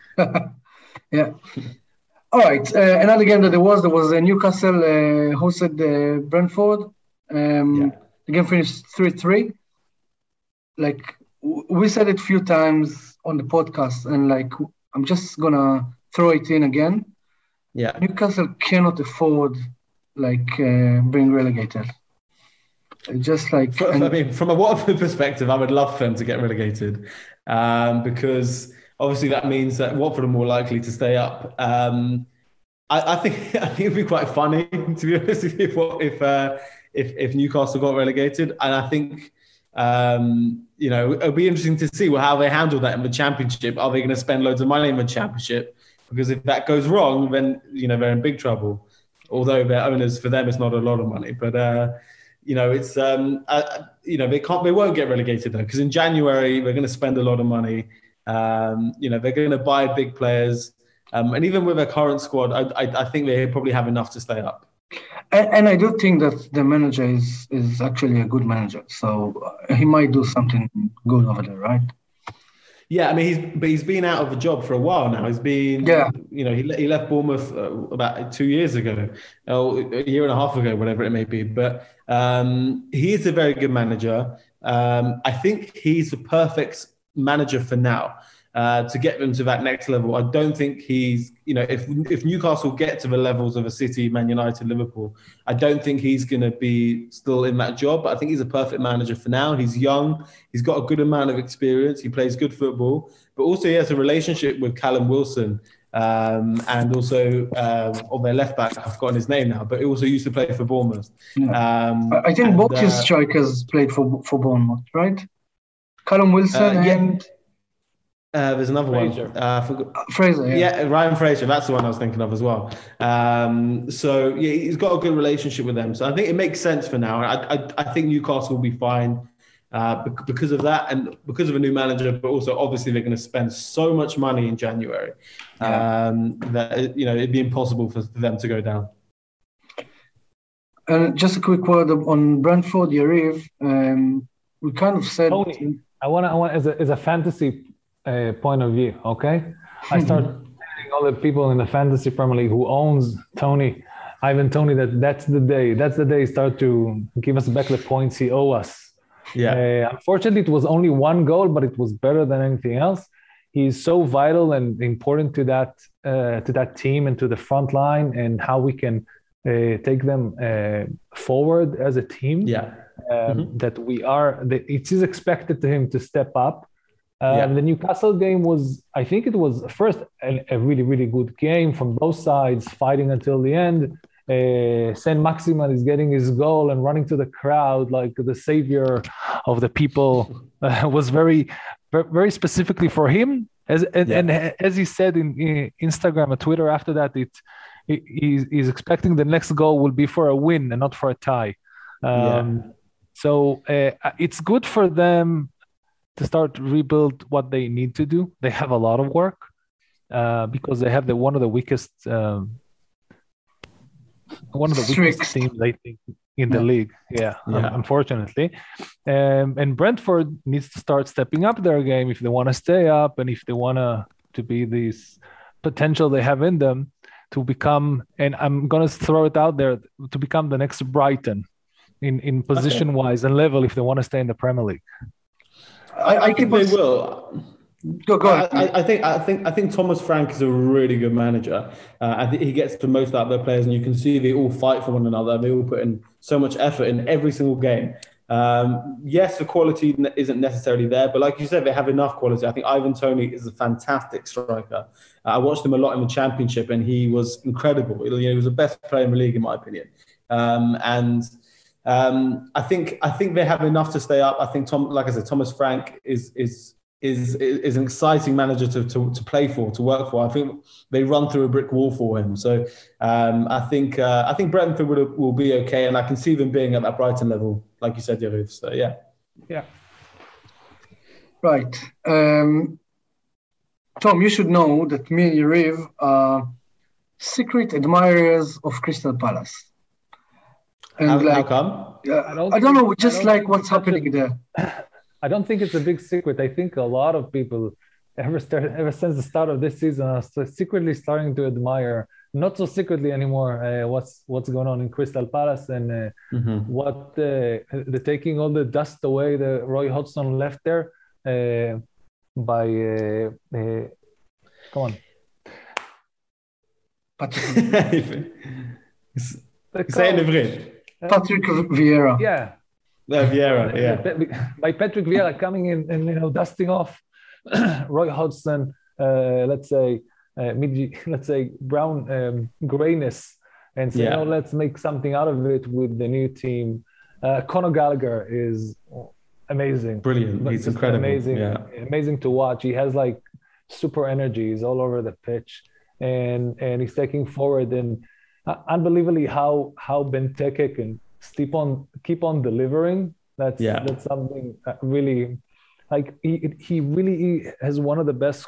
Yeah. All right. Uh, another game that there was, there was uh, Newcastle uh, hosted uh, Brentford. Um, Yeah. The game finished three three. Like w- we said it a few times on the podcast, and like I'm just gonna throw it in again. Yeah. Newcastle cannot afford like uh, being relegated. Just like For, and, I mean, from a Watford perspective, I would love for them to get relegated um, because obviously that means that Watford are more likely to stay up. Um, I, I think I think it'd be quite funny, to be honest, if if uh, if, if Newcastle got relegated, and I think um, you know it'll be interesting to see how they handle that in the Championship. Are they going to spend loads of money in the Championship? Because if that goes wrong, then you know they're in big trouble. Although their owners, for them, it's not a lot of money, but. Uh, You know, it's um, uh, you know, they can't, they won't get relegated though, because in January they're going to spend a lot of money. Um, you know, they're going to buy big players, um, and even with their current squad, I, I, I think they probably have enough to stay up. and, and I do think that the manager is is actually a good manager, so he might do something good over there, right? Yeah, I mean, he's but he's been out of a job for a while now. He's been, yeah. you know, he he left Bournemouth uh, about two years ago, or a year and a half ago, whatever it may be. But um, he is a very good manager. Um, I think he's the perfect manager for now uh, to get them to that next level. I don't think he's, you know, if if Newcastle get to the levels of a City, Man United, Liverpool, I don't think he's going to be still in that job. But I think he's a perfect manager for now. He's young. He's got a good amount of experience. He plays good football, but also he has a relationship with Callum Wilson. Um, and also um, on their left back, I've forgotten his name now, but he also used to play for Bournemouth. Yeah. Um, I think and, both his uh, strikers played for for Bournemouth, right? Callum Wilson uh, yeah. and uh, there's another Fraser. one. Uh, I forgot. Fraser. Yeah. Yeah, Ryan Fraser. That's the one I was thinking of as well. Um, so yeah, he's got a good relationship with them. So I think it makes sense for now. I I, I think Newcastle will be fine. Uh, because of that and because of a new manager, but also obviously they're going to spend so much money in January um, that you know it'd be impossible for them to go down. And just a quick word on Brentford, Yariv. Um, we kind of said. Tony, I want to, I want as a as a fantasy uh, point of view. Okay, I start telling all the people in the fantasy Premier League who owns Tony, Ivan Tony, that that's the day. That's the day he start to give us back the points he owe us. Yeah. Uh, unfortunately, it was only one goal, but it was better than anything else. He's so vital and important to that uh, to that team and to the front line and how we can uh, take them uh, forward as a team. Yeah. Um, Mm-hmm. That we are. That it is expected to him to step up. Um, Yeah. The Newcastle game was, I think, it was first a, a really really good game from both sides, fighting until the end. Uh, Saint Maximin is getting his goal and running to the crowd like the savior of the people. Uh, was very, very specifically for him. As and, Yeah. and as he said in, in Instagram and Twitter after that, it he, he's, he's expecting the next goal will be for a win and not for a tie. Um, Yeah. So uh, it's good for them to start rebuild what they need to do. They have a lot of work uh, because they have the one of the weakest. Um, One of the weakest Streaks. teams, I think, in the Yeah. league. Yeah, Yeah. um, unfortunately. Um, and Brentford needs to start stepping up their game if they want to stay up and if they want to to be this potential they have in them to become. And I'm gonna throw it out there to become the next Brighton in in position wise and level if they want to stay in the Premier League. I, I think they also- will. Go, go ahead. I, I think I think I think Thomas Frank is a really good manager. Uh, I think he gets the most out of their players, and you can see they all fight for one another. They all put in so much effort in every single game. Um, yes, the quality n- isn't necessarily there, but like you said, they have enough quality. I think Ivan Toney is a fantastic striker. Uh, I watched him a lot in the Championship, and he was incredible. You know, he was the best player in the league, in my opinion. Um, and um, I think I think they have enough to stay up. I think Tom, like I said, Thomas Frank is is. Is, is an exciting manager to, to, to play for, to work for. I think they run through a brick wall for him. So um, I think uh, I think Brentford will, will be okay, and I can see them being at that Brighton level, like you said, Yariv. So yeah, Yeah. Right. Um, Tom, you should know that me and Yariv are secret admirers of Crystal Palace. And how, like, how come? uh, I don't I don't know, think- I just don't like think what's it's such a- happening there. I don't think it's a big secret. I think a lot of people, ever start, ever since the start of this season, are st- secretly starting to admire, not so secretly anymore, uh, what's what's going on in Crystal Palace and uh, Mm-hmm. what uh, the taking all the dust away that Roy Hodgson left there uh, by uh, uh, Come on. Patrick, Say it in Hebrew. Patrick Vieira. Yeah. Uh, Vieira, yeah. By Patrick Vieira coming in and, you know, dusting off Roy Hodgson, uh, let's say, uh, mid, let's say brown um, grayness, and say, Yeah. no, let's make something out of it with the new team. Uh, Conor Gallagher is amazing. Brilliant. He's Just incredible. Amazing, Yeah. amazing to watch. He has like super energy. He's all over the pitch, and and he's taking forward, and uh, unbelievably how how Benteke can keep on keep on delivering. That's Yeah. that's something that really, like he he really has one of the best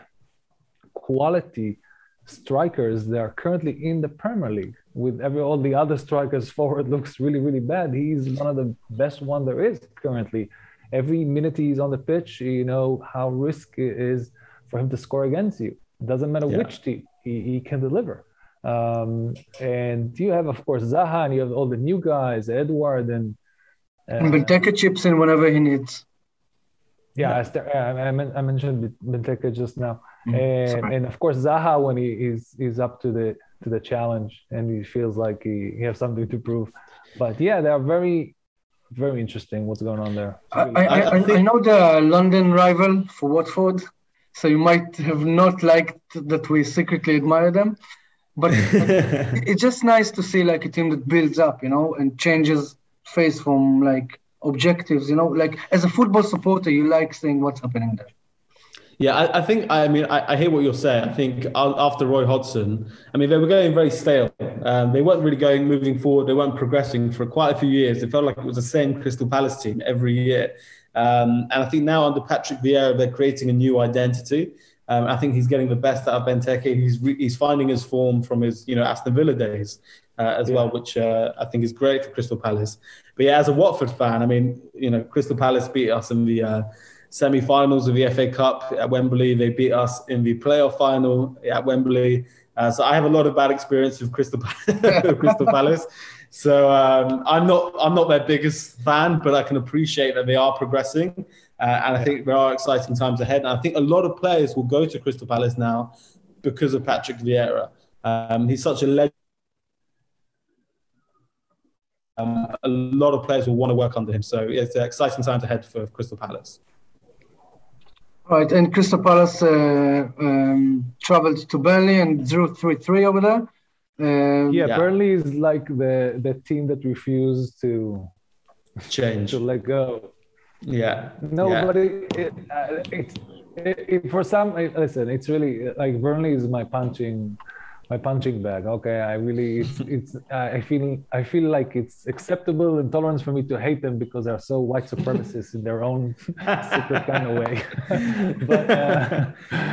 quality strikers that are currently in the Premier League. With every all the other strikers forward looks really really bad. He's one of the best one there is currently. Every minute he's on the pitch, you know how risky it is for him to score against you. It doesn't matter Yeah. which team, he, he can deliver. Um, and you have, of course, Zaha, and you have all the new guys, Edward, and uh, And Benteke chips in whenever he needs. yeah, Esther, I, I, men- I mentioned Benteke just now, Mm, and sorry. and of course Zaha when he is is up to the to the challenge and he feels like he, he has something to prove. But yeah, they are very very interesting. What's going on there? I, I, I, I I know the London rival for Watford, so you might have not liked that we secretly admire them, but it's just nice to see like a team that builds up, you know, and changes face from like objectives, you know, like as a football supporter, you like seeing what's happening there. Yeah, I, I think, I mean, I, I hear what you're saying. I think a- after Roy Hodgson, I mean, they were going very stale. Um, they weren't really going, moving forward. They weren't progressing for quite a few years. It felt like it was the same Crystal Palace team every year. Um, and I think now under Patrick Vieira, they're creating a new identity. Um, I think he's getting the best out of Benteke. He's re- he's finding his form from his, you know, Aston Villa days uh, as Yeah. well, which uh, I think is great for Crystal Palace. But yeah, as a Watford fan, I mean, you know, Crystal Palace beat us in the uh, semi-finals of the F A Cup at Wembley. They beat us in the playoff final at Wembley. Uh, so I have a lot of bad experience with Crystal, Crystal Palace. So um, I'm not I'm not their biggest fan, but I can appreciate that they are progressing. Uh, and I think there are exciting times ahead. And I think a lot of players will go to Crystal Palace now because of Patrick Vieira. Um, he's such a legend. Um, a lot of players will want to work under him. So it's exciting times ahead for Crystal Palace. Right, and Crystal Palace uh, um, traveled to Burnley and drew three three over there. Um, yeah, Yeah. Burnley is like the the team that refused to Change. to let go. Yeah. Nobody, it, uh, it's it, it, for some. It, listen, it's really like Burnley is my punching, my punching bag. Okay, I really, it's, it's I feel, I feel like it's acceptable and tolerance for me to hate them because they're so white supremacists in their own secret kind of way. but uh,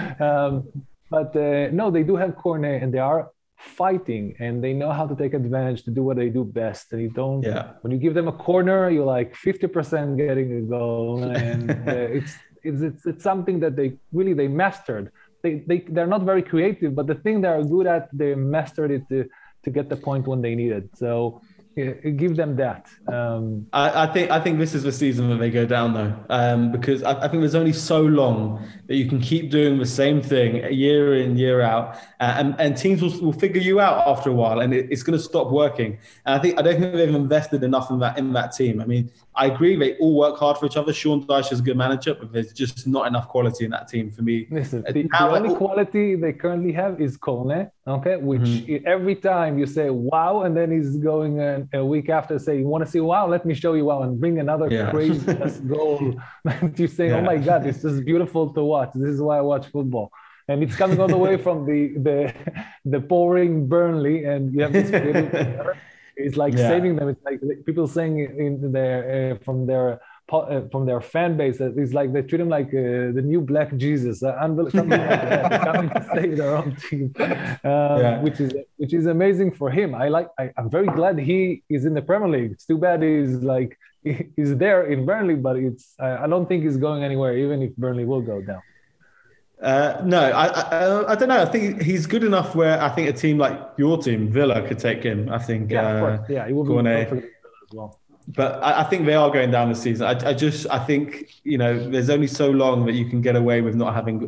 um, but uh, no, they do have Cornet and they are fighting and they know how to take advantage to do what they do best. And you don't. Yeah. When you give them a corner, you're like fifty percent getting a goal, and uh, it's, it's it's it's something that they really they mastered. They they they're not very creative, but the thing they are good at, they mastered it to to get the point when they need it. So yeah, give them that. Um, I, I think I think this is the season that they go down though, um, because I, I think there's only so long that you can keep doing the same thing year in year out, uh, and and teams will, will figure you out after a while, and it, it's going to stop working. And I think I don't think they've invested enough in that in that team. I mean, I agree they all work hard for each other. Sean Dyche is a good manager, but there's just not enough quality in that team for me. Listen, Uh, the, the now- only quality they currently have is Cornet, okay? Which Mhm. every time you say wow, and then he's going a, a week after say, you want to see wow? Let me show you wow, and bring another Yeah. crazy ass goal. And you say, oh Yeah. my God, this is beautiful to watch. This is why I watch football. And it's coming all the way from the the the pouring Burnley, and you have this creative player. It's like Yeah. saving them. It's like people saying in their uh, from their po- uh, from their fan base that it's like they treat him like uh, the new Black Jesus, uh, unbel- something like that. They're coming to save their own team, um, Yeah. which is which is amazing for him. I like. I, I'm very glad he is in the Premier League. It's too bad he's like he's there in Burnley, but it's I, I don't think he's going anywhere, even if Burnley will go down. Uh, no, I, I I don't know. I think he's good enough where I think a team like your team, Villa, could take him. I think. Yeah, uh, of course. Yeah, he will be Cornet. perfect as well. But I, I think they are going down this season. I, I just, I think, you know, there's only so long that you can get away with not having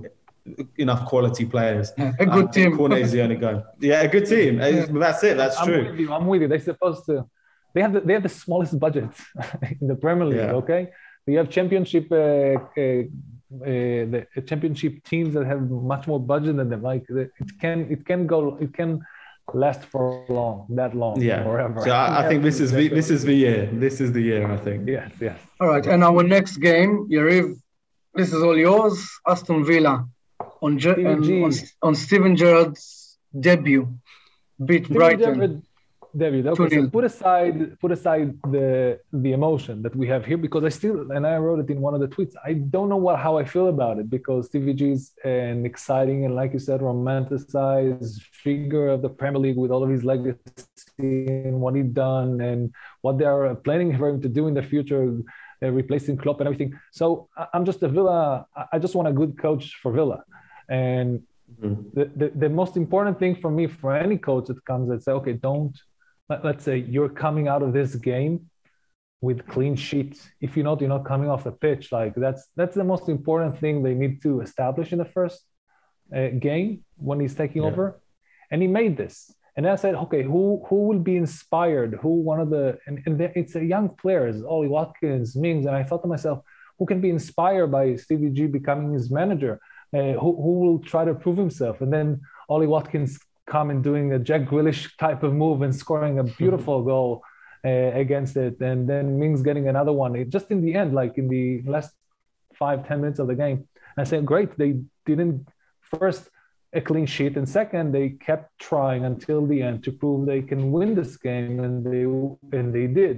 enough quality players. Yeah, a good um, team. Cornet is the only guy. Yeah, a good team. Yeah. That's it. That's I'm true. with you. I'm with you. They're supposed to. They have the, they have the smallest budget in the Premier League. Yeah. Okay, they have championship uh, uh, uh, the championship teams that have much more budget than them. Like it can it can go it can last for long that long Yeah. forever. So I, I think this is the, this is the year. This is the year. I think. Yes, yes. All right, and our next game, Yariv, this is all yours. Aston Villa on Ge- Stevie and G. on, on Steven Gerrard's debut, beat Steven Brighton. Gerrard, David, okay, so two nil. put aside put aside the the emotion that we have here, because I still, and I wrote it in one of the tweets, I don't know what how I feel about it, because Stevie G is an exciting and, like you said, romanticized figure of the Premier League with all of his legacy and what he's done and what they are planning for him to do in the future, uh, replacing Klopp and everything. So I- I'm just a Villa, I- I just want a good coach for Villa. And Mhm. the, the, the most important thing for me, for any coach that comes and say, okay, don't, let- let's say you're coming out of this game with clean sheets. If you're not, you're not coming off the pitch. Like that's that's the most important thing they need to establish in the first uh, game when he's taking Yeah. over. And he made this. And then I said, okay, who who will be inspired? Who one of the and, and there, it's a young players, Ollie Watkins, Mings, and I thought to myself, who can be inspired by Stevie G becoming his manager? Uh, who who will try to prove himself? And then Ollie Watkins come and doing a Jack Grealish type of move and scoring a beautiful goal uh, against it, and then Mings getting another one. It, just in the end, like in the last five ten minutes of the game, I said, great. They didn't first a clean sheet, and second, they kept trying until the end to prove they can win this game, and they and they did.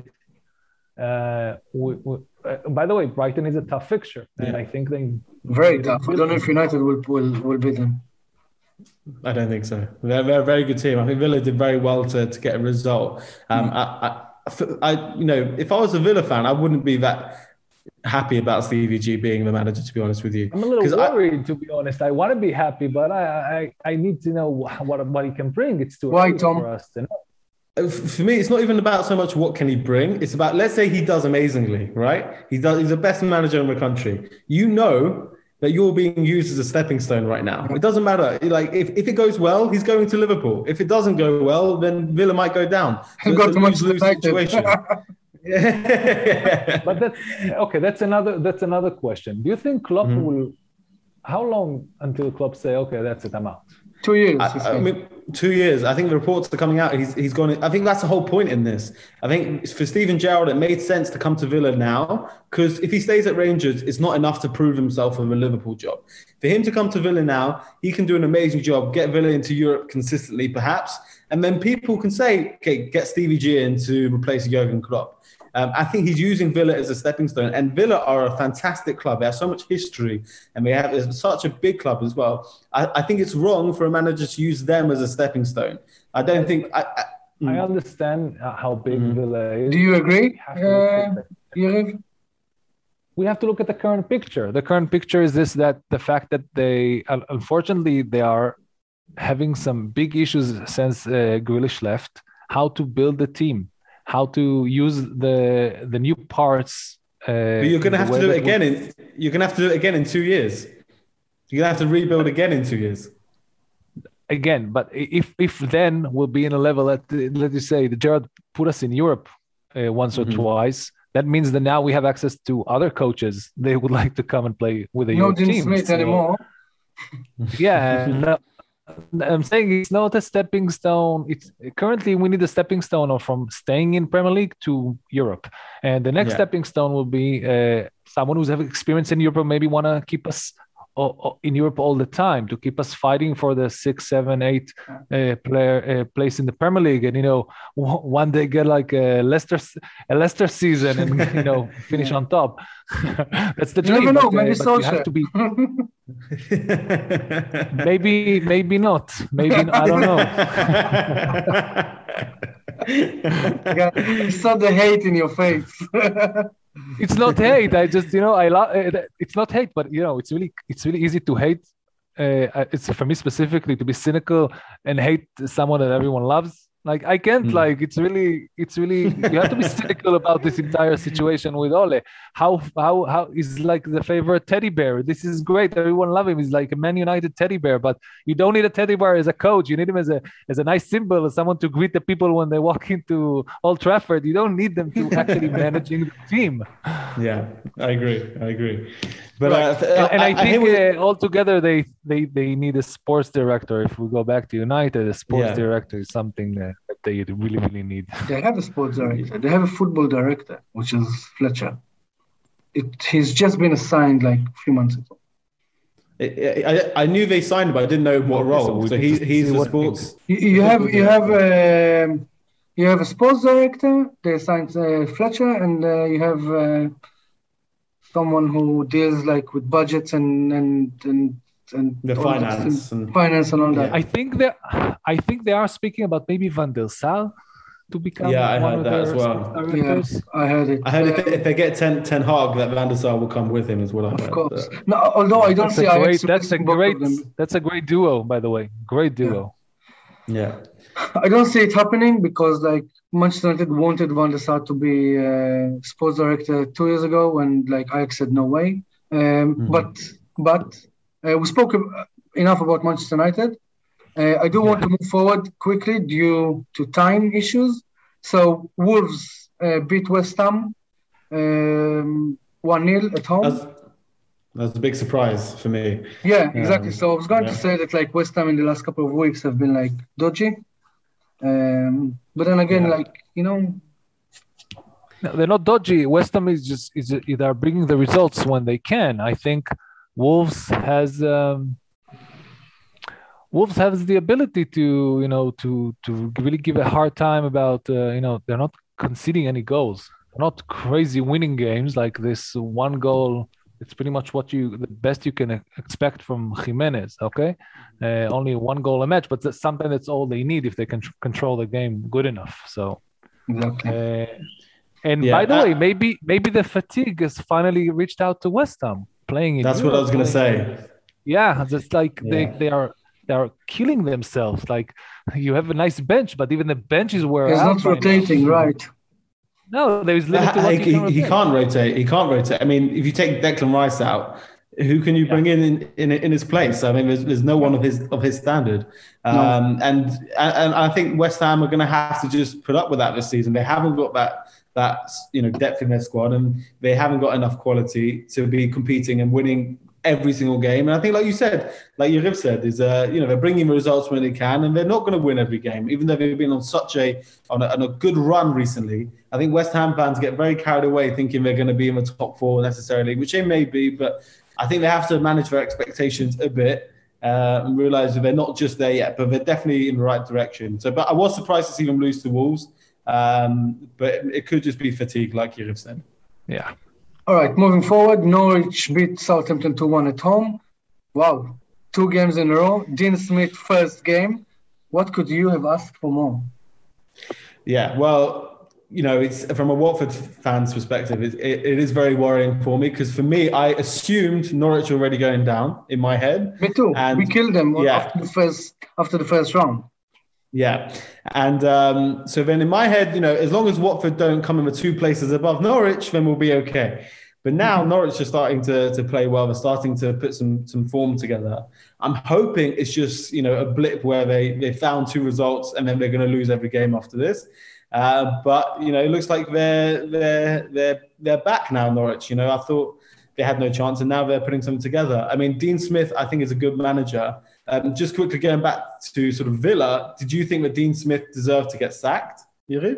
Uh, we, we, uh, by the way, Brighton is a tough fixture, and Yeah. I think they Very tough. I don't know if United will will, will beat them. I don't think so. They're, they're a very good team. I think Villa did very well to, to get a result. Um, I, I, I, you know, if I was a Villa fan, I wouldn't be that happy about Stevie G being the manager, to be honest with you. I'm a little 'Cause I- worried, to be honest. I want to be happy, but I, I, I need to know what what he can bring. It's too Why, early Tom? for us to know. For me, it's not even about so much what can he bring. It's about, let's say he does amazingly, right? He does. He's the best manager in the country. You know that you're being used as a stepping stone right now. It doesn't matter. Like if, if it goes well, he's going to Liverpool. If it doesn't go well, then Villa might go down. So He'll go it's a to Manchester lose-lose United. situation. Yeah. But that's okay. That's another. That's another question. Do you think Klopp Mhm. will? How long until Klopp say, okay, that's it, I'm out? Two years. he I, I said. mean, two years. I think the reports are coming out. He's he's gone. I think that's the whole point in this. I think for Steven Gerrard, it made sense to come to Villa now because if he stays at Rangers, it's not enough to prove himself with a Liverpool job. For him to come to Villa now, he can do an amazing job, get Villa into Europe consistently, perhaps, and then people can say, okay, get Stevie G in to replace Jurgen Klopp. Um, I think he's using Villa as a stepping stone, and Villa are a fantastic club. They have so much history, and they have it's such a big club as well. I, I think it's wrong for a manager to use them as a stepping stone. I don't think. I, I, I understand uh, how big Mhm. Villa is. Do you agree, We have to look uh, at the- Yariv? we have to look at the current picture. The current picture is this: that the fact that they, un- unfortunately, they are having some big issues since uh, Grealish left. How to build the team, how to use the the new parts. Uh, but you're going to the have to way do it that again. we- In you're going to have to do it again in two years. You're going to have to rebuild again in two years. again. But if if then we'll be in a level that, uh, let you say, the Gerrard put us in Europe uh, once or Mhm. twice. That means that now we have access to other coaches. They would like to come and play with the No Europe Dean team. Smith So- anymore. Yeah, no, I'm saying it's not a stepping stone. It's currently we need a stepping stone of from staying in Premier League to Europe, and the next Yeah. stepping stone will be uh, someone who's have experience in Europe, maybe want to keep us o- o- in Europe all the time, to keep us fighting for the six, seven, eight uh, player uh, place in the Premier League, and you know w- one day get like a Leicester s- a Leicester season and you know finish on top. That's the You dream. never know. but, uh, Maybe but you have Solskjaer. to be. Maybe, maybe not. Maybe I don't know. I saw the hate in your face. It's not hate. I just, you know, I love. It's not hate, but you know, it's really, it's really easy to hate. Uh, it's for me specifically to be cynical and hate someone that everyone loves. Like I can't Mm. like it's really it's really you have to be cynical about this entire situation with Ole. How how how is like the favorite teddy bear. This is great. Everyone love him. He's like a Man United teddy bear, but you don't need a teddy bear as a coach. You need him as a as a nice symbol, as someone to greet the people when they walk into Old Trafford. You don't need them to actually managing the team. Yeah, I agree. I agree. But Right. uh, and, and I, I think hear what- uh, altogether they, they they need a sports director. If we go back to United, a sports Yeah. director is something uh, that they really really need. They have a sports director. They have a football director, which is Fletcher. It, he's just been assigned like a few months ago. I, I, I knew they signed him, but I didn't know what Okay, role. so we So, need he, to he's see the what sports. You, you have you have um you have a sports director. They assigned uh, Fletcher, and uh, you have uh, someone who deals like with budgets and and and and The all this finance and and- finance and all that. I think they I think they are speaking about maybe Van der Sar to become Yeah, I one heard of that their as well. sports Yeah, directors. I heard it. I heard if, Um, they, if they get Ten, Ten Hag, that Van der Sar will come with him as well. I of heard, course. but- No, although I don't That's see a great Ajax that's a replacing both great of them. that's a great duo, by the way. Great duo. yeah. I don't see it happening because like Manchester United wanted Van der Sar to be uh, sports director two years ago, and like Ajax said no way. Um, But but uh, we spoke ab- enough about Manchester United. Uh, I do want to move forward quickly due to time issues. So Wolves uh, beat West Ham um, one nil at home. That's, that's a big surprise for me. Yeah, exactly. Um, So I was going to yeah. say that like West Ham in the last couple of weeks have been like dodgy. Um, but then again, Yeah. like, you know, No, they're not dodgy. West Ham is just is they are bringing the results when they can. I think Wolves has um, Wolves has the ability to you know to to really give a hard time about uh, you know they're not conceding any goals. They're not crazy winning games like this one goal. It's pretty much what you the best you can expect from Jimenez. Okay, uh, only one goal a match, but that's something that's all they need if they can tr- control the game good enough. So. exactly. Uh, and Yeah, by the uh, way, maybe maybe the fatigue has finally reached out to West Ham playing in. That's what I was Europe, going to playing- say. Yeah, it's like they Yeah. they are they are killing themselves. Like you have a nice bench, but even the bench is wear It's out. not by now. rotating, right? No, there is limit to what he, you can he, he rotate. can't rotate. He can't rotate. I mean, if you take Declan Rice out, who can you bring in, in in in his place? I mean, there's, there's no one of his of his standard. Um, and and I think West Ham are going to have to just put up with that this season. They haven't got that that you know depth in their squad, and they haven't got enough quality to be competing and winning every single game. And I think, like you said, like Yariv said, is uh, you know they're bringing results when they can, and they're not going to win every game, even though they've been on such a on a, on a good run recently. I think West Ham fans get very carried away thinking they're going to be in the top four necessarily, which they may be, but I think they have to manage their expectations a bit uh, and realize that they're not just there yet, but they're definitely in the right direction. So, but I was surprised to see them lose to Wolves, um, but it could just be fatigue, like Yariv said. Yeah. All right, moving forward, Norwich beat Southampton two one at home. Wow, two games in a row. Dean Smith, first game. What could you have asked for more? Yeah, well, you know, it's from a Watford fan's perspective, it, it, it is very worrying for me because for me, I assumed Norwich were already going down in my head. Me too. And- we killed them yeah. after the first after the first round. Yeah. And um, so then in my head, you know, as long as Watford don't come in with two places above Norwich, then we'll be okay. But now Norwich are starting to, to play well. They're starting to put some some form together. I'm hoping it's just, you know, a blip where they, they found two results and then they're going to lose every game after this. Uh, but, you know, it looks like they're, they're, they're, they're back now, Norwich. You know, I thought they had no chance and now they're putting something together. I mean, Dean Smith, I think, is a good manager. Um, just quickly going back to sort of Villa, did you think that Dean Smith deserved to get sacked, Yariv?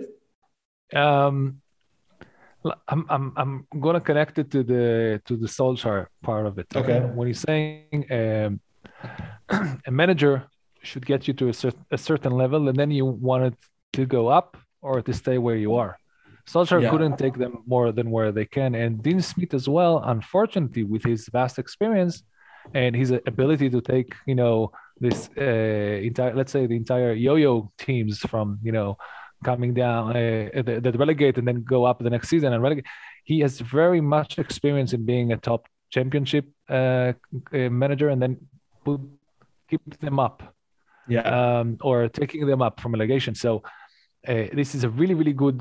Um, l- I'm I'm I'm gonna connect it to the to the Solskjaer part of it. Okay. When he's saying um, a manager should get you to a, cer- a certain level, and then you want it to go up or to stay where you are. Solskjaer Yeah. couldn't take them more than where they can, and Dean Smith as well. Unfortunately, with his vast experience and his ability to take, you know, this uh, entire, let's say, the entire yo-yo teams from, you know, coming down uh, that, that relegate and then go up the next season and relegate. He has very much experience in being a top championship uh, uh, manager and then put, keep them up. yeah, um, or taking them up from relegation. So uh, this is a really, really good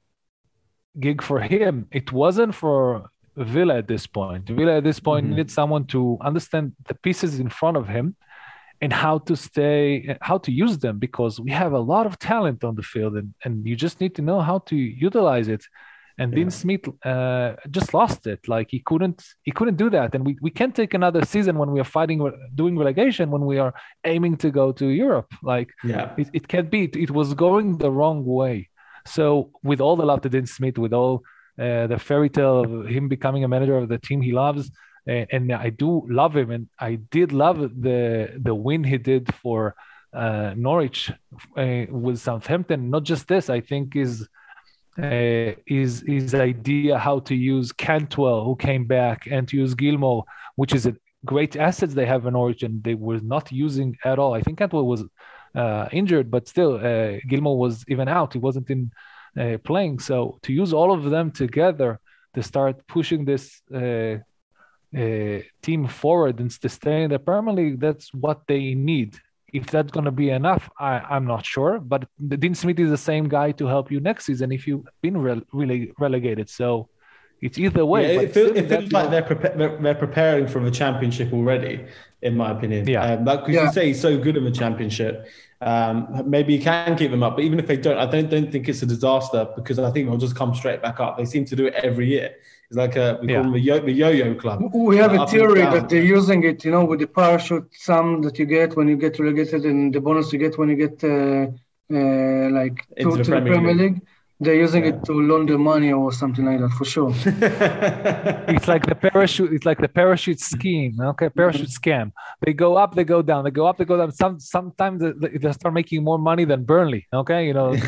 gig for him. It wasn't for Villa at this point. Villa at this point Mhm. needed someone to understand the pieces in front of him and how to stay, how to use them, because we have a lot of talent on the field, and, and you just need to know how to utilize it. And Yeah. Dean Smith uh, just lost it. Like he couldn't, he couldn't do that. And we, we can't take another season when we are fighting, doing relegation, when we are aiming to go to Europe. Like yeah, it, it can't be. It, it was going the wrong way. So with all the love to Dean Smith, with all uh, the fairy tale of him becoming a manager of the team he loves, and, and I do love him, and I did love the the win he did for uh, Norwich uh, with Southampton. Not just this, I think is uh, his his idea how to use Cantwell, who came back, and to use Gilmore, which is a great assets they have in Norwich, and they were not using at all. I think Cantwell was uh, injured, but still, uh, Gilmore was even out. He wasn't in uh, playing. So to use all of them together to start pushing this uh, uh, team forward and to stay in the Premier League, that's what they need. If that's going to be enough, I, I'm not sure. But Dean Smith is the same guy to help you next season if you've been re- really relegated. So it's either way. Yeah, but it, feel, still it feels that- like they're, prepa- they're they're preparing for the championship already, in my opinion. Yeah. Um, like, because Yeah. you say he's so good in the championship, um, maybe you can keep them up. But even if they don't, I don't don't think it's a disaster, because I think they'll just come straight back up. They seem to do it every year. It's like a we Yeah. call them the, yo- the yo-yo club. We have Uh, a up and theory down. that they're using it, you know, with the parachute sum that you get when you get relegated and the bonus you get when you get uh, uh, like to, Into the to Premier the Premier League. League. They're using Yeah. it to launder money or something like that, for sure. It's like the parachute. It's like the parachute scheme. Okay, parachute scam. They go up, they go down. They go up, they go down. Some sometimes they, they start making more money than Burnley. Okay, you know,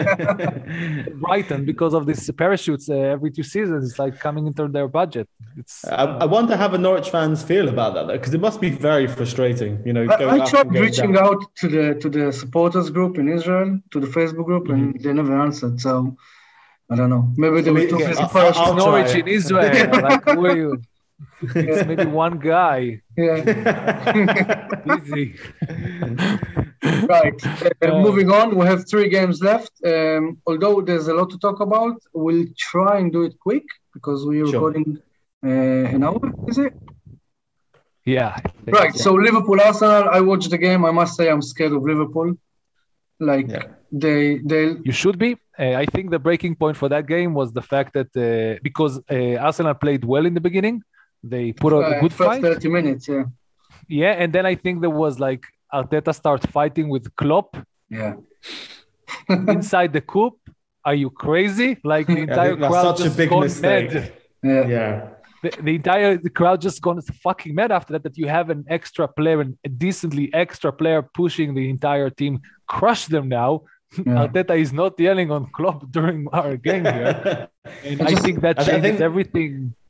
Brighton, because of these parachutes uh, every two seasons. It's like coming into their budget. It's I, I wonder how the Norwich fans feel about that, though, because it must be very frustrating. You know, going I, I up tried and going reaching down. out to the to the supporters group in Israel, to the Facebook group, and they never answered. So I don't know. Maybe they I were mean, too yeah, busy I'll- parachuting. I'll- Norwich try. in Israel. Like, who are you? It's maybe one guy. Yeah. Easy. Right. Uh, Uh, moving on, we have three games left. Um, although there's a lot to talk about, we'll try and do it quick because we're Sure. recording uh, an hour, is it? Yeah. Right. So Liverpool Arsenal, I watched the game. I must say I'm scared of Liverpool. Like Yeah. they they You should be. Uh, I think the breaking point for that game was the fact that uh, because uh, Arsenal played well in the beginning, they put out a uh, good first fight. thirty minutes, yeah. Yeah, and then I think there was like Arteta start fighting with Klopp Yeah. inside the coop. Are you crazy? Like the I entire think that's crowd such a just big gone mistake. mad. Yeah. Yeah. The, the entire the crowd just gone fucking mad after that. That you have an extra player, and a decently extra player pushing the entire team, crush them now. Yeah. Arteta is not yelling on Klopp during our game here, and I I, just- think that I thi- I changes think- everything.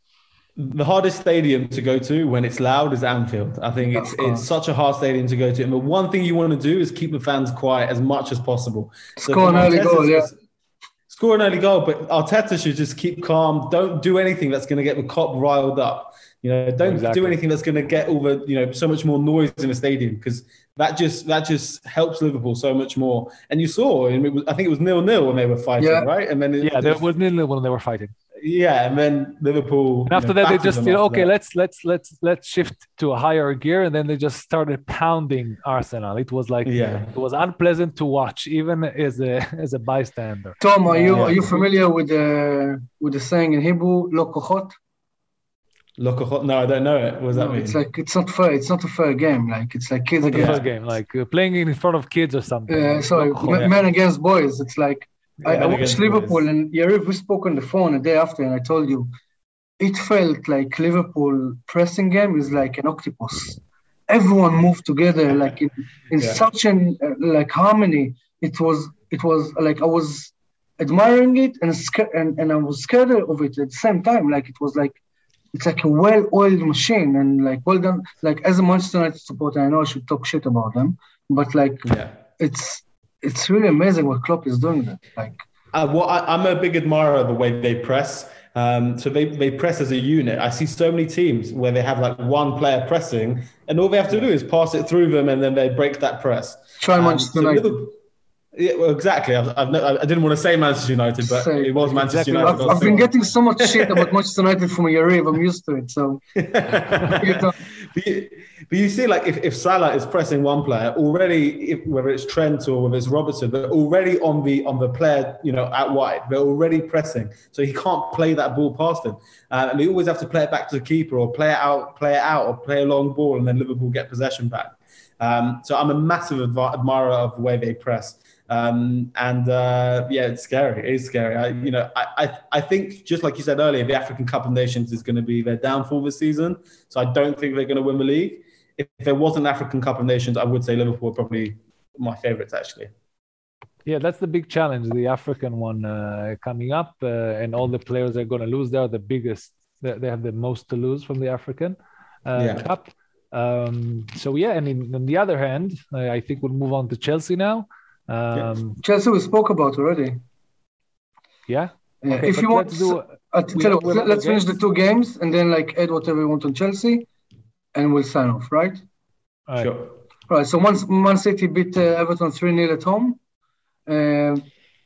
The hardest stadium to go to when it's loud is Anfield. I think Yeah, it's of course. it's such a hard stadium to go to. And the one thing you want to do is keep the fans quiet as much as possible. So Score an from early Arteta's- goal, yeah. Score an early goal, but Arteta should just keep calm. Don't do anything that's going to get the cop riled up. You know, don't Exactly. do anything that's going to get all the you know so much more noise in the stadium, because that just that just helps Liverpool so much more. And you saw, and it was, I think it was nil nil when they were fighting, Yeah. right? And then it, Yeah, there was nil when they were fighting. yeah, and then Liverpool. And after you know, that, they battered just them you know, after okay, that. let's let's let's let's shift to a higher gear, and then they just started pounding Arsenal. It was like Yeah. it was unpleasant to watch, even as a as a bystander. Tom, are you Yeah. are you familiar with the with the saying in Hebrew, "Lo kochot"? Lokachot? No, I don't know it. What does that mean? It's like it's not fair. It's not a fair game. Like it's like kids The against first game, like uh, playing in front of kids or something. uh, sorry, Local- m- men against boys. It's like I, Yeah, I men watched against Liverpool boys. and Yariv, we spoke on the phone a day after, and I told you it felt like Liverpool pressing game is like an octopus. Everyone moved together like in, in Yeah. such an uh, like harmony. It was it was like I was admiring it and scared and, and I was scared of it at the same time. Like it was like it's like a well-oiled machine and like well done. Like as a Manchester United supporter, I know I should talk shit about them, but like Yeah. it's it's really amazing what Klopp is doing there. Like Uh, well, I, I'm a big admirer of the way they press. Um, so they, they press as a unit. I see so many teams where they have like one player pressing, and all they have to do is pass it through them, and then they break that press. Try Um, Manchester so United. Liverpool- yeah, well, exactly. I've, I've no, I didn't want to say Manchester United, but Same. it was Manchester Exactly. United. I've, I've been getting so much shit about Manchester United from Yariv. I'm used to it. So, you know. But you, but you see, like, if, if Salah is pressing one player already, if, whether it's Trent or whether it's Robertson, they're already on the on the player, you know, out wide. They're already pressing, so he can't play that ball past him, uh, and they always have to play it back to the keeper or play it out, play it out, or play a long ball, and then Liverpool get possession back. Um, so I'm a massive adv- admirer of the way they press. Um, and uh, yeah, it's scary. It is scary. I, you know, I, I, I think just like you said earlier, the African Cup of Nations is going to be their downfall this season. So I don't think they're going to win the league. If, if there was an African Cup of Nations, I would say Liverpool are probably my favourites, actually. Yeah, that's the big challenge, the African one uh, coming up, uh, and all the players are going to lose. They are the biggest. They, they have the most to lose from the African uh, Yeah. Cup. Um, so yeah, and in, on the other hand, I, I think we'll move on to Chelsea now. Um, Chelsea we spoke about already. yeah. Uh, Okay, if but you want, let's do. uh, we tell you have- we what, have let's the finish the games. two games and then like add whatever you want on Chelsea, and we'll sign off, right? All right. Sure. Right. So once Man City beat uh, Everton three nil at home. Uh,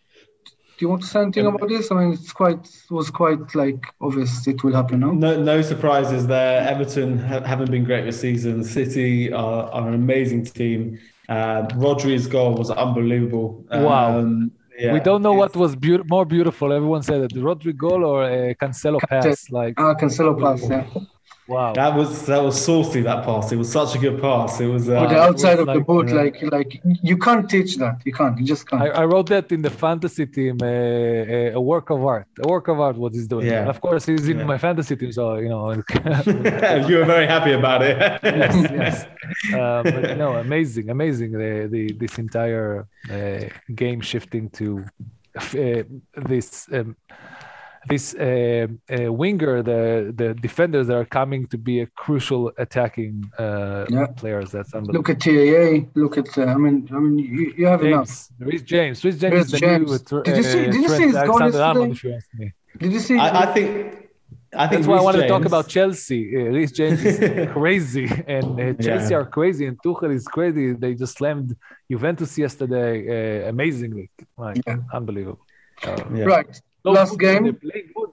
do you want to say anything Um, about this? I mean, it's quite it was quite like obvious it will happen now. No, no surprises there. Everton ha- haven't been great this season. City are, are an amazing team. Uh, Rodri's goal was unbelievable. Wow. Um, yeah, We don't know what it's- was beau- more beautiful. Everyone said it: Rodri goal or a Cancelo pass. Like, Ah, Cancelo pass, yeah. wow. That was that was saucy. That pass. It was such a good pass. It was. Uh, Or the outside was of the like, boot, uh, like like you can't teach that. You can't. You just can't. I, I wrote that in the fantasy team, uh, a, a work of art. A work of art, what he's doing. Yeah. And of course, he's in Yeah. my fantasy team, so you know. you were very happy about it. yes, yes. Uh, but no, amazing, amazing. The, the this entire uh, game shifting to uh, this um, this uh, uh, winger, the the defenders that are coming to be a crucial attacking uh, Yeah. players. That's unbelievable. Look at T A A. Look at. Uh, I mean, I mean, you, you have enough. James, Reece James, Reece James Reece is the James. new uh, Did you see- did you see Trent his goal Alexander-Arnold, yesterday? if you ask me. Did you see? I, I think. I think That's why I Reece want to talk James- about Chelsea. Uh, Reece James is crazy, and uh, Chelsea Yeah. are crazy, and Tuchel is crazy. They just slammed Juventus yesterday uh, amazingly, like Yeah. unbelievable. Uh, Yeah. Right. so Last good, game. they play good.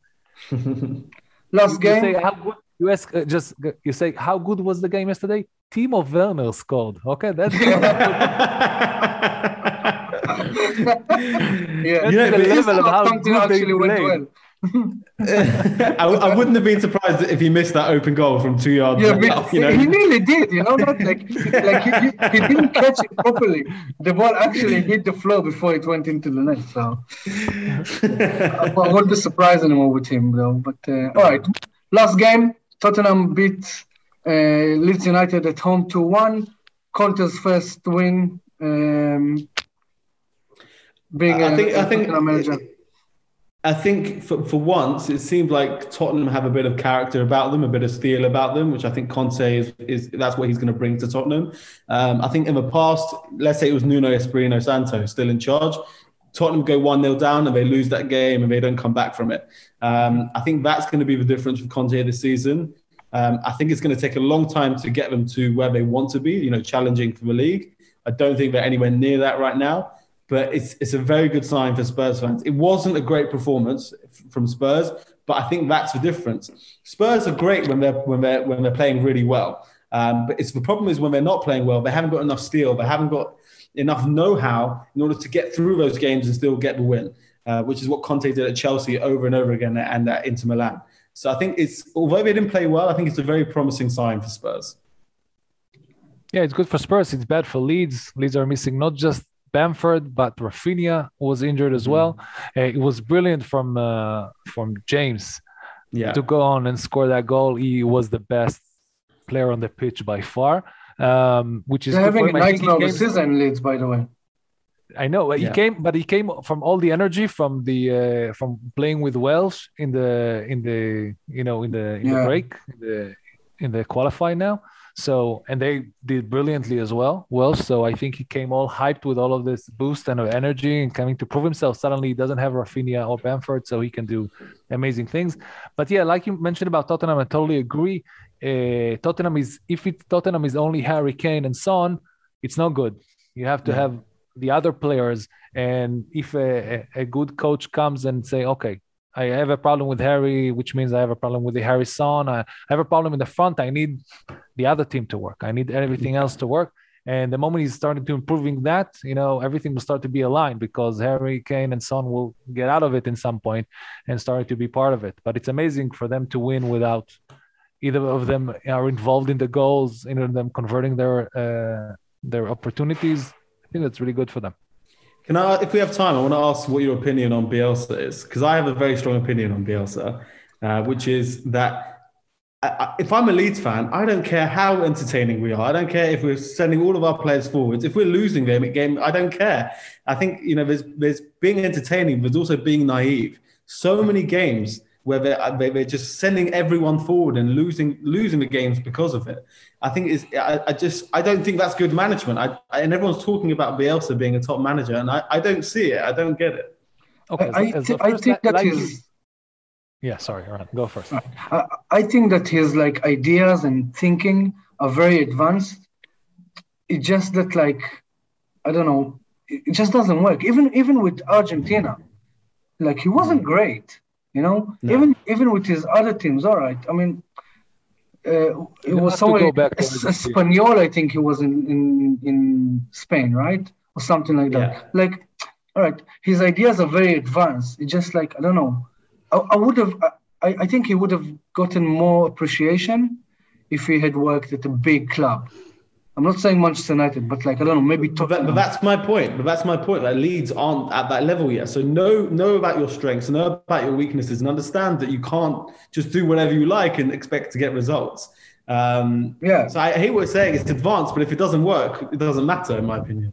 Last You game. say how good. You ask uh, just you say how good was the game yesterday? Timo Werner scored. Okay, that's Yeah. That's Yeah, the but it's level of how Something good they actually went played. well. I, I wouldn't have been surprised if he missed that open goal from two yards. Yeah, out, but you know? he nearly did. You know that, like, like he, he, he didn't catch it properly. The ball actually hit the floor before it went into the net. So I won't be surprised anymore with him, though. But uh, all right, last game, Tottenham beat uh, Leeds United at home two one. Conte's first win. Um, being I a, think. a I think. Tottenham manager. I think for, for once, it seemed like Tottenham have a bit of character about them, a bit of steel about them, which I think Conte is, is that's what he's going to bring to Tottenham. Um, I think in the past, let's say it was Nuno Espirito Santo still in charge, Tottenham go one nil down and they lose that game and they don't come back from it. Um, I think that's going to be the difference with Conte this season. Um, I think it's going to take a long time to get them to where they want to be, you know, challenging for the league. I don't think they're anywhere near that right now. But it's it's a very good sign for Spurs fans. It wasn't a great performance from Spurs, but I think that's the difference. Spurs are great when they're when they're when they're playing really well. Um, but it's the problem is when they're not playing well, they haven't got enough steel, they haven't got enough know-how in order to get through those games and still get the win, uh, which is what Conte did at Chelsea over and over again and at Inter Milan. So I think it's although they didn't play well, I think it's a very promising sign for Spurs. Yeah, it's good for Spurs. It's bad for Leeds. Leeds are missing not just Bamford, but Rafinha was injured as well. Uh, it was brilliant from uh, from James Yeah. to go on and score that goal. He was the best player on the pitch by far, um, which is They're good for having him. a I think he nightmare of a came- season, Leeds, by the way. I know he Yeah. came, but he came from all the energy from the uh, from playing with Welsh in the in the you know in the in the Yeah. break in the in the qualify now. So, and they did brilliantly as well. Well, so I think he came all hyped with all of this boost and energy and coming to prove himself. Suddenly, he doesn't have Rafinha or Bamford, so he can do amazing things. But yeah, like you mentioned about Tottenham, I totally agree. Uh, Tottenham is if it Tottenham is only Harry Kane and Son, it's not good. You have to yeah. have the other players, and if a, a good coach comes and say, okay, I have a problem with Harry, which means I have a problem with the Harry Son. I have a problem in the front. I need the other team to work. I need everything else to work. And the moment he's starting to improving that, you know, everything will start to be aligned because Harry Kane and Son will get out of it in some point and start to be part of it. But it's amazing for them to win without either of them are involved in the goals, either of them converting their uh, their opportunities. I think that's really good for them. Can I, if we have time, I want to ask what your opinion on Bielsa is, because I have a very strong opinion on Bielsa, uh, which is that I, I, if I'm a Leeds fan, I don't care how entertaining we are. I don't care if we're sending all of our players forwards. If we're losing them at game, I don't care. I think, you know, there's there's being entertaining, but also being naive. So many games where they're, they're just sending everyone forward and losing losing the games because of it. I think it's, I, I just, I don't think that's good management. I, I, and everyone's talking about Bielsa being a top manager, and I, I don't see it. I don't get it. Okay, I, so, th- I think that like his... Yeah, sorry, Ron, go first. I, I think that his like ideas and thinking are very advanced. It's just that like, I don't know, it just doesn't work. Even even with Argentina, like he wasn't great, you know. No. Even even with his other teams, all right. I mean. Uh, it was somewhere Espanyol, I think he was in, in in Spain, right? Or something like that. Yeah. Like, all right, his ideas are very advanced. It's just like, I don't know. I, I would have, I, I think he would have gotten more appreciation if he had worked at a big club. I'm not saying Manchester United, but like, I don't know, maybe Tottenham. But, but that's my point. But that's my point. Like Leeds aren't at that level yet. So know know about your strengths, know about your weaknesses, and understand that you can't just do whatever you like and expect to get results. Um, yeah. So I hate what you're saying. It's advanced, but if it doesn't work, it doesn't matter, in my opinion.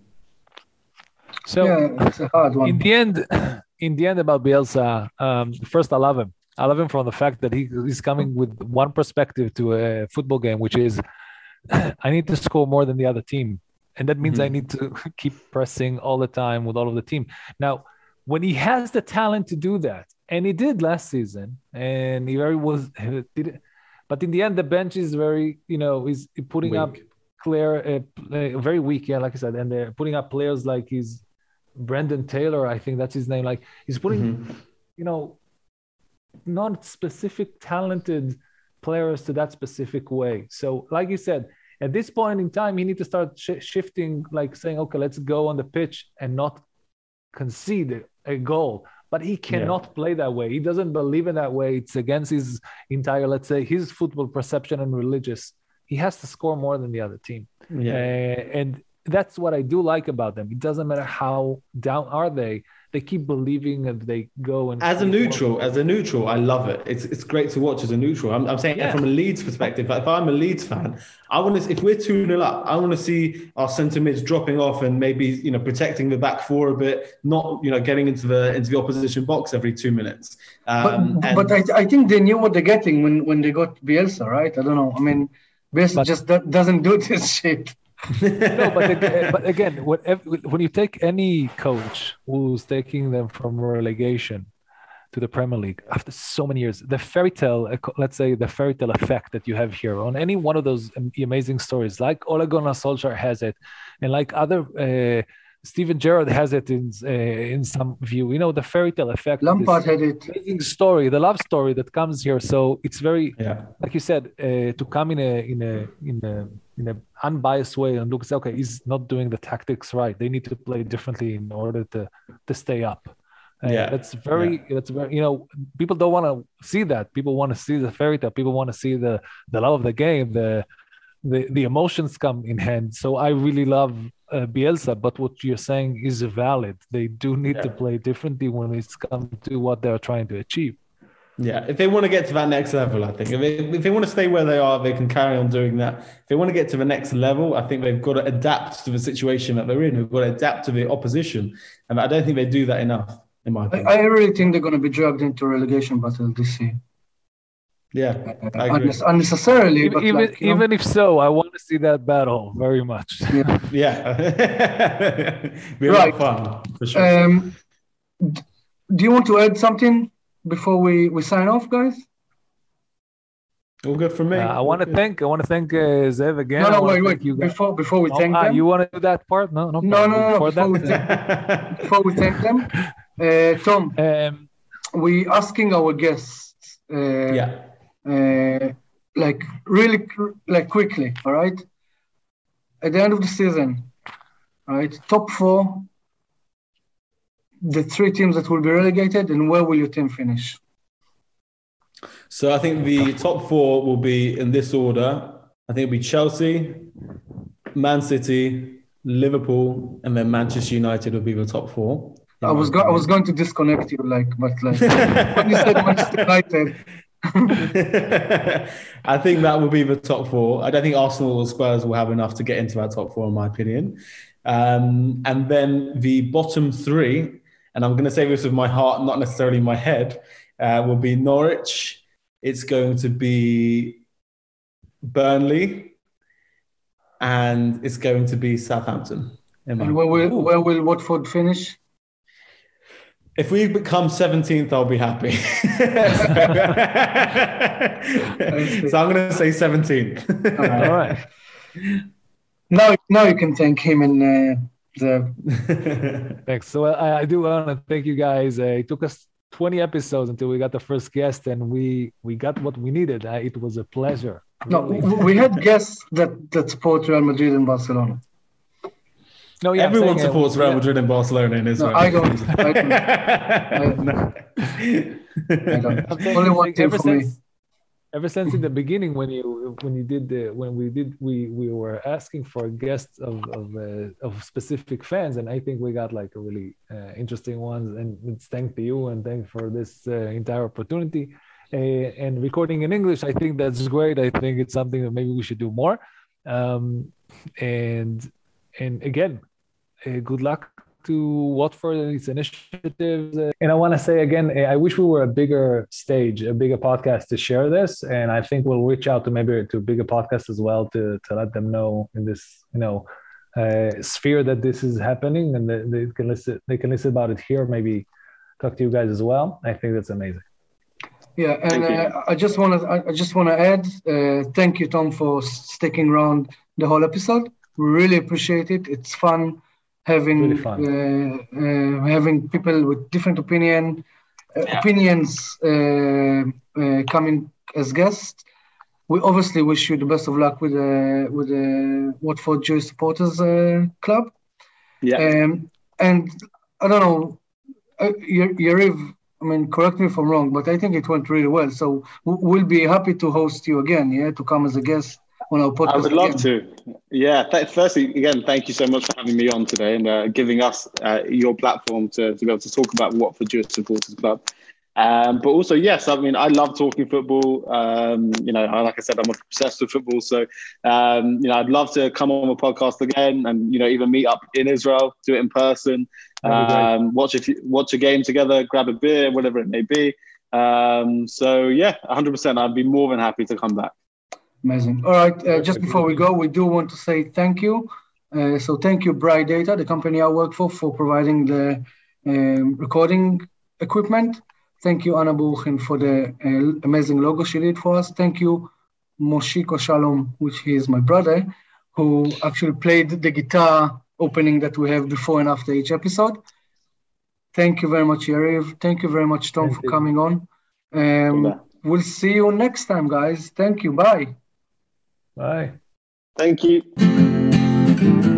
So yeah, it's a hard one. In the end, in the end about Bielsa, um, first I love him. I love him from the fact that he he's coming with one perspective to a football game, which is, I need to score more than the other team. And that means mm-hmm. I need to keep pressing all the time with all of the team. Now, when he has the talent to do that, and he did last season, and he very was, he did it, but in the end, the bench is very, you know, he's putting weak. up clear, uh, uh, very weak, yeah, like I said, and they're putting up players like he's Brendan Taylor, I think that's his name. Like he's putting, mm-hmm. you know, not specific talented players to that specific way. So like you said, at this point in time, you need to start sh- shifting, like saying, okay, let's go on the pitch and not concede a goal. But he cannot yeah. play that way. He doesn't believe in that way. It's against his entire, let's say, his football perception and religious. He has to score more than the other team. Yeah. Uh, and that's what I do like about them. It doesn't matter how down are they. They keep believing and they go and as a neutral, as a neutral, I love it. It's it's great to watch as a neutral. I'm, I'm saying yeah. from a Leeds perspective. If I'm a Leeds fan, I want to. If we're two nil up, I want to see our centre mids dropping off and maybe you know protecting the back four a bit, not you know getting into the into the opposition box every two minutes. Um, but and... but I, I think they knew what they're getting when, when they got Bielsa, right? I don't know. I mean, Bielsa but... just doesn't do this shit. No, but, but again, when you take any coach who's taking them from relegation to the Premier League after so many years, the fairy tale, let's say the fairy tale effect that you have here on any one of those amazing stories, like Ole Gunnar Solskjaer has it, and like other uh, Steven Gerrard has it in uh, in some view. You know, the fairy tale effect. Lampard had it. Amazing story, the love story that comes here. So it's very, yeah. like you said, uh, to come in a in a in a in an unbiased way and look and say, okay, he's not doing the tactics right. They need to play differently in order to to stay up. Uh, yeah, that's very yeah. that's very you know people don't want to see that. People want to see the fairy tale. People want to see the the love of the game. The the the emotions come in hand. So I really love uh, Bielsa, but what you're saying is valid. They do need yeah. to play differently when it's come to what they're trying to achieve. Yeah, if they want to get to that next level, I think if they, if they want to stay where they are, they can carry on doing that. If they want to get to the next level, I think they've got to adapt to the situation that they're in. They've got to adapt to the opposition, and I don't think they do that enough, in my opinion. I, I really think they're going to be dragged into relegation battle this year. Yeah, uh, I agree. unne- unnecessarily. Even But even, like, you know, even if so, I want to see that battle very much. yeah. Yeah. Be a Right. lot of fun, for sure. Um, d- do you want to add something before we, we sign off, guys? All good from me. Uh, I want to thank I want to thank uh, Zev again. No, I no, wanna wait, thank wait. you guys. Before before we Oh, thank ah, them, you want to do that part? No, no, no, no, no, no. Before Before we that, thank, before we thank them, uh, Tom, um, we asking our guests, uh, Yeah. uh, like really, cr- like quickly, all right. At the end of the season, all right, top four, the three teams that will be relegated, and where will your team finish? So I think the top four will be in this order. I think it'll be Chelsea, Man City, Liverpool, and then Manchester United will be the top four. I was go- I was going to disconnect you, like, but like when you said Manchester United, I think that will be the top four. I don't think Arsenal or Spurs will have enough to get into that top four, in my opinion. Um, and then the bottom three, and I'm going to say this with my heart, not necessarily my head, uh, will be Norwich. It's going to be Burnley, and it's going to be Southampton. in my and where will opinion. where will Watford finish? If we become seventeenth, I'll be happy. So I'm going to say seventeenth. All right. all right. Now, now you can thank him and uh, the. Thanks. So I, I do want to thank you guys. Uh, it took us twenty episodes until we got the first guest, and we we got what we needed. Uh, it was a pleasure. No, Really. w- we had guests that that support Real Madrid and Barcelona. No, yeah, I'm Everyone saying, uh, supports Real yeah. Madrid and Barcelona in No, Israel. I don't. I don't. I, I don't. I'm saying, Only I'm one saying team ever for me. since ever since in the beginning when you when you did the when we did we we were asking for guests of of, uh, of specific fans, and I think we got like a really uh, interesting ones, and it's thank to you and thank for this uh, entire opportunity. Uh, and recording in English, I think that's great. I think it's something that maybe we should do more. Um, and and again, uh, good luck to Watford and its initiatives. Uh, and I want to say again, uh, I wish we were a bigger stage, a bigger podcast to share this. And I think we'll reach out to maybe to bigger podcasts as well to to let them know in this, you know, uh, sphere that this is happening, and that they can listen. They can listen about it here. Maybe talk to you guys as well. I think that's amazing. Yeah, and Thank you. uh, I just want to I I just want to add, uh, thank you, Tom, for sticking around the whole episode. We really appreciate it. It's fun having Really fun. uh, uh, having people with different opinion uh, Yeah. opinions uh, uh, coming as guests. We obviously wish you the best of luck with the with the Watford Jewish Supporters uh, Club. Yeah. Um, and I don't know, uh, Y- Yariv, I mean, correct me if I'm wrong, but I think it went really well. So w- we'll be happy to host you again, yeah, to come as a guest on our podcast. I would love again. to. Yeah. Th- firstly, again, thank you so much for having me on today and uh, giving us uh, your platform to, to be able to talk about Watford Jewish Supporters Club. Um, but also, yes, I mean, I love talking football. Um, you know, like I said, I'm obsessed with football. So, um, you know, I'd love to come on a podcast again and, you know, even meet up in Israel, do it in person, That'd be great. um, watch a few, watch a game together, grab a beer, whatever it may be. Um, so, yeah, one hundred percent. I'd be more than happy to come back. Amazing. All right. Uh, just before we go, we do want to say thank you. Uh, so thank you, Bright Data, the company I work for, for providing the um, recording equipment. Thank you, Anna Buchin, for the uh, amazing logo she did for us. Thank you, Moshiko Shalom, which is my brother, who actually played the guitar opening that we have before and after each episode. Thank you very much, Yariv. Thank you very much, Tom, Thank for you. coming on. Um, we'll see you next time, guys. Thank you. Bye. Bye. Thank you.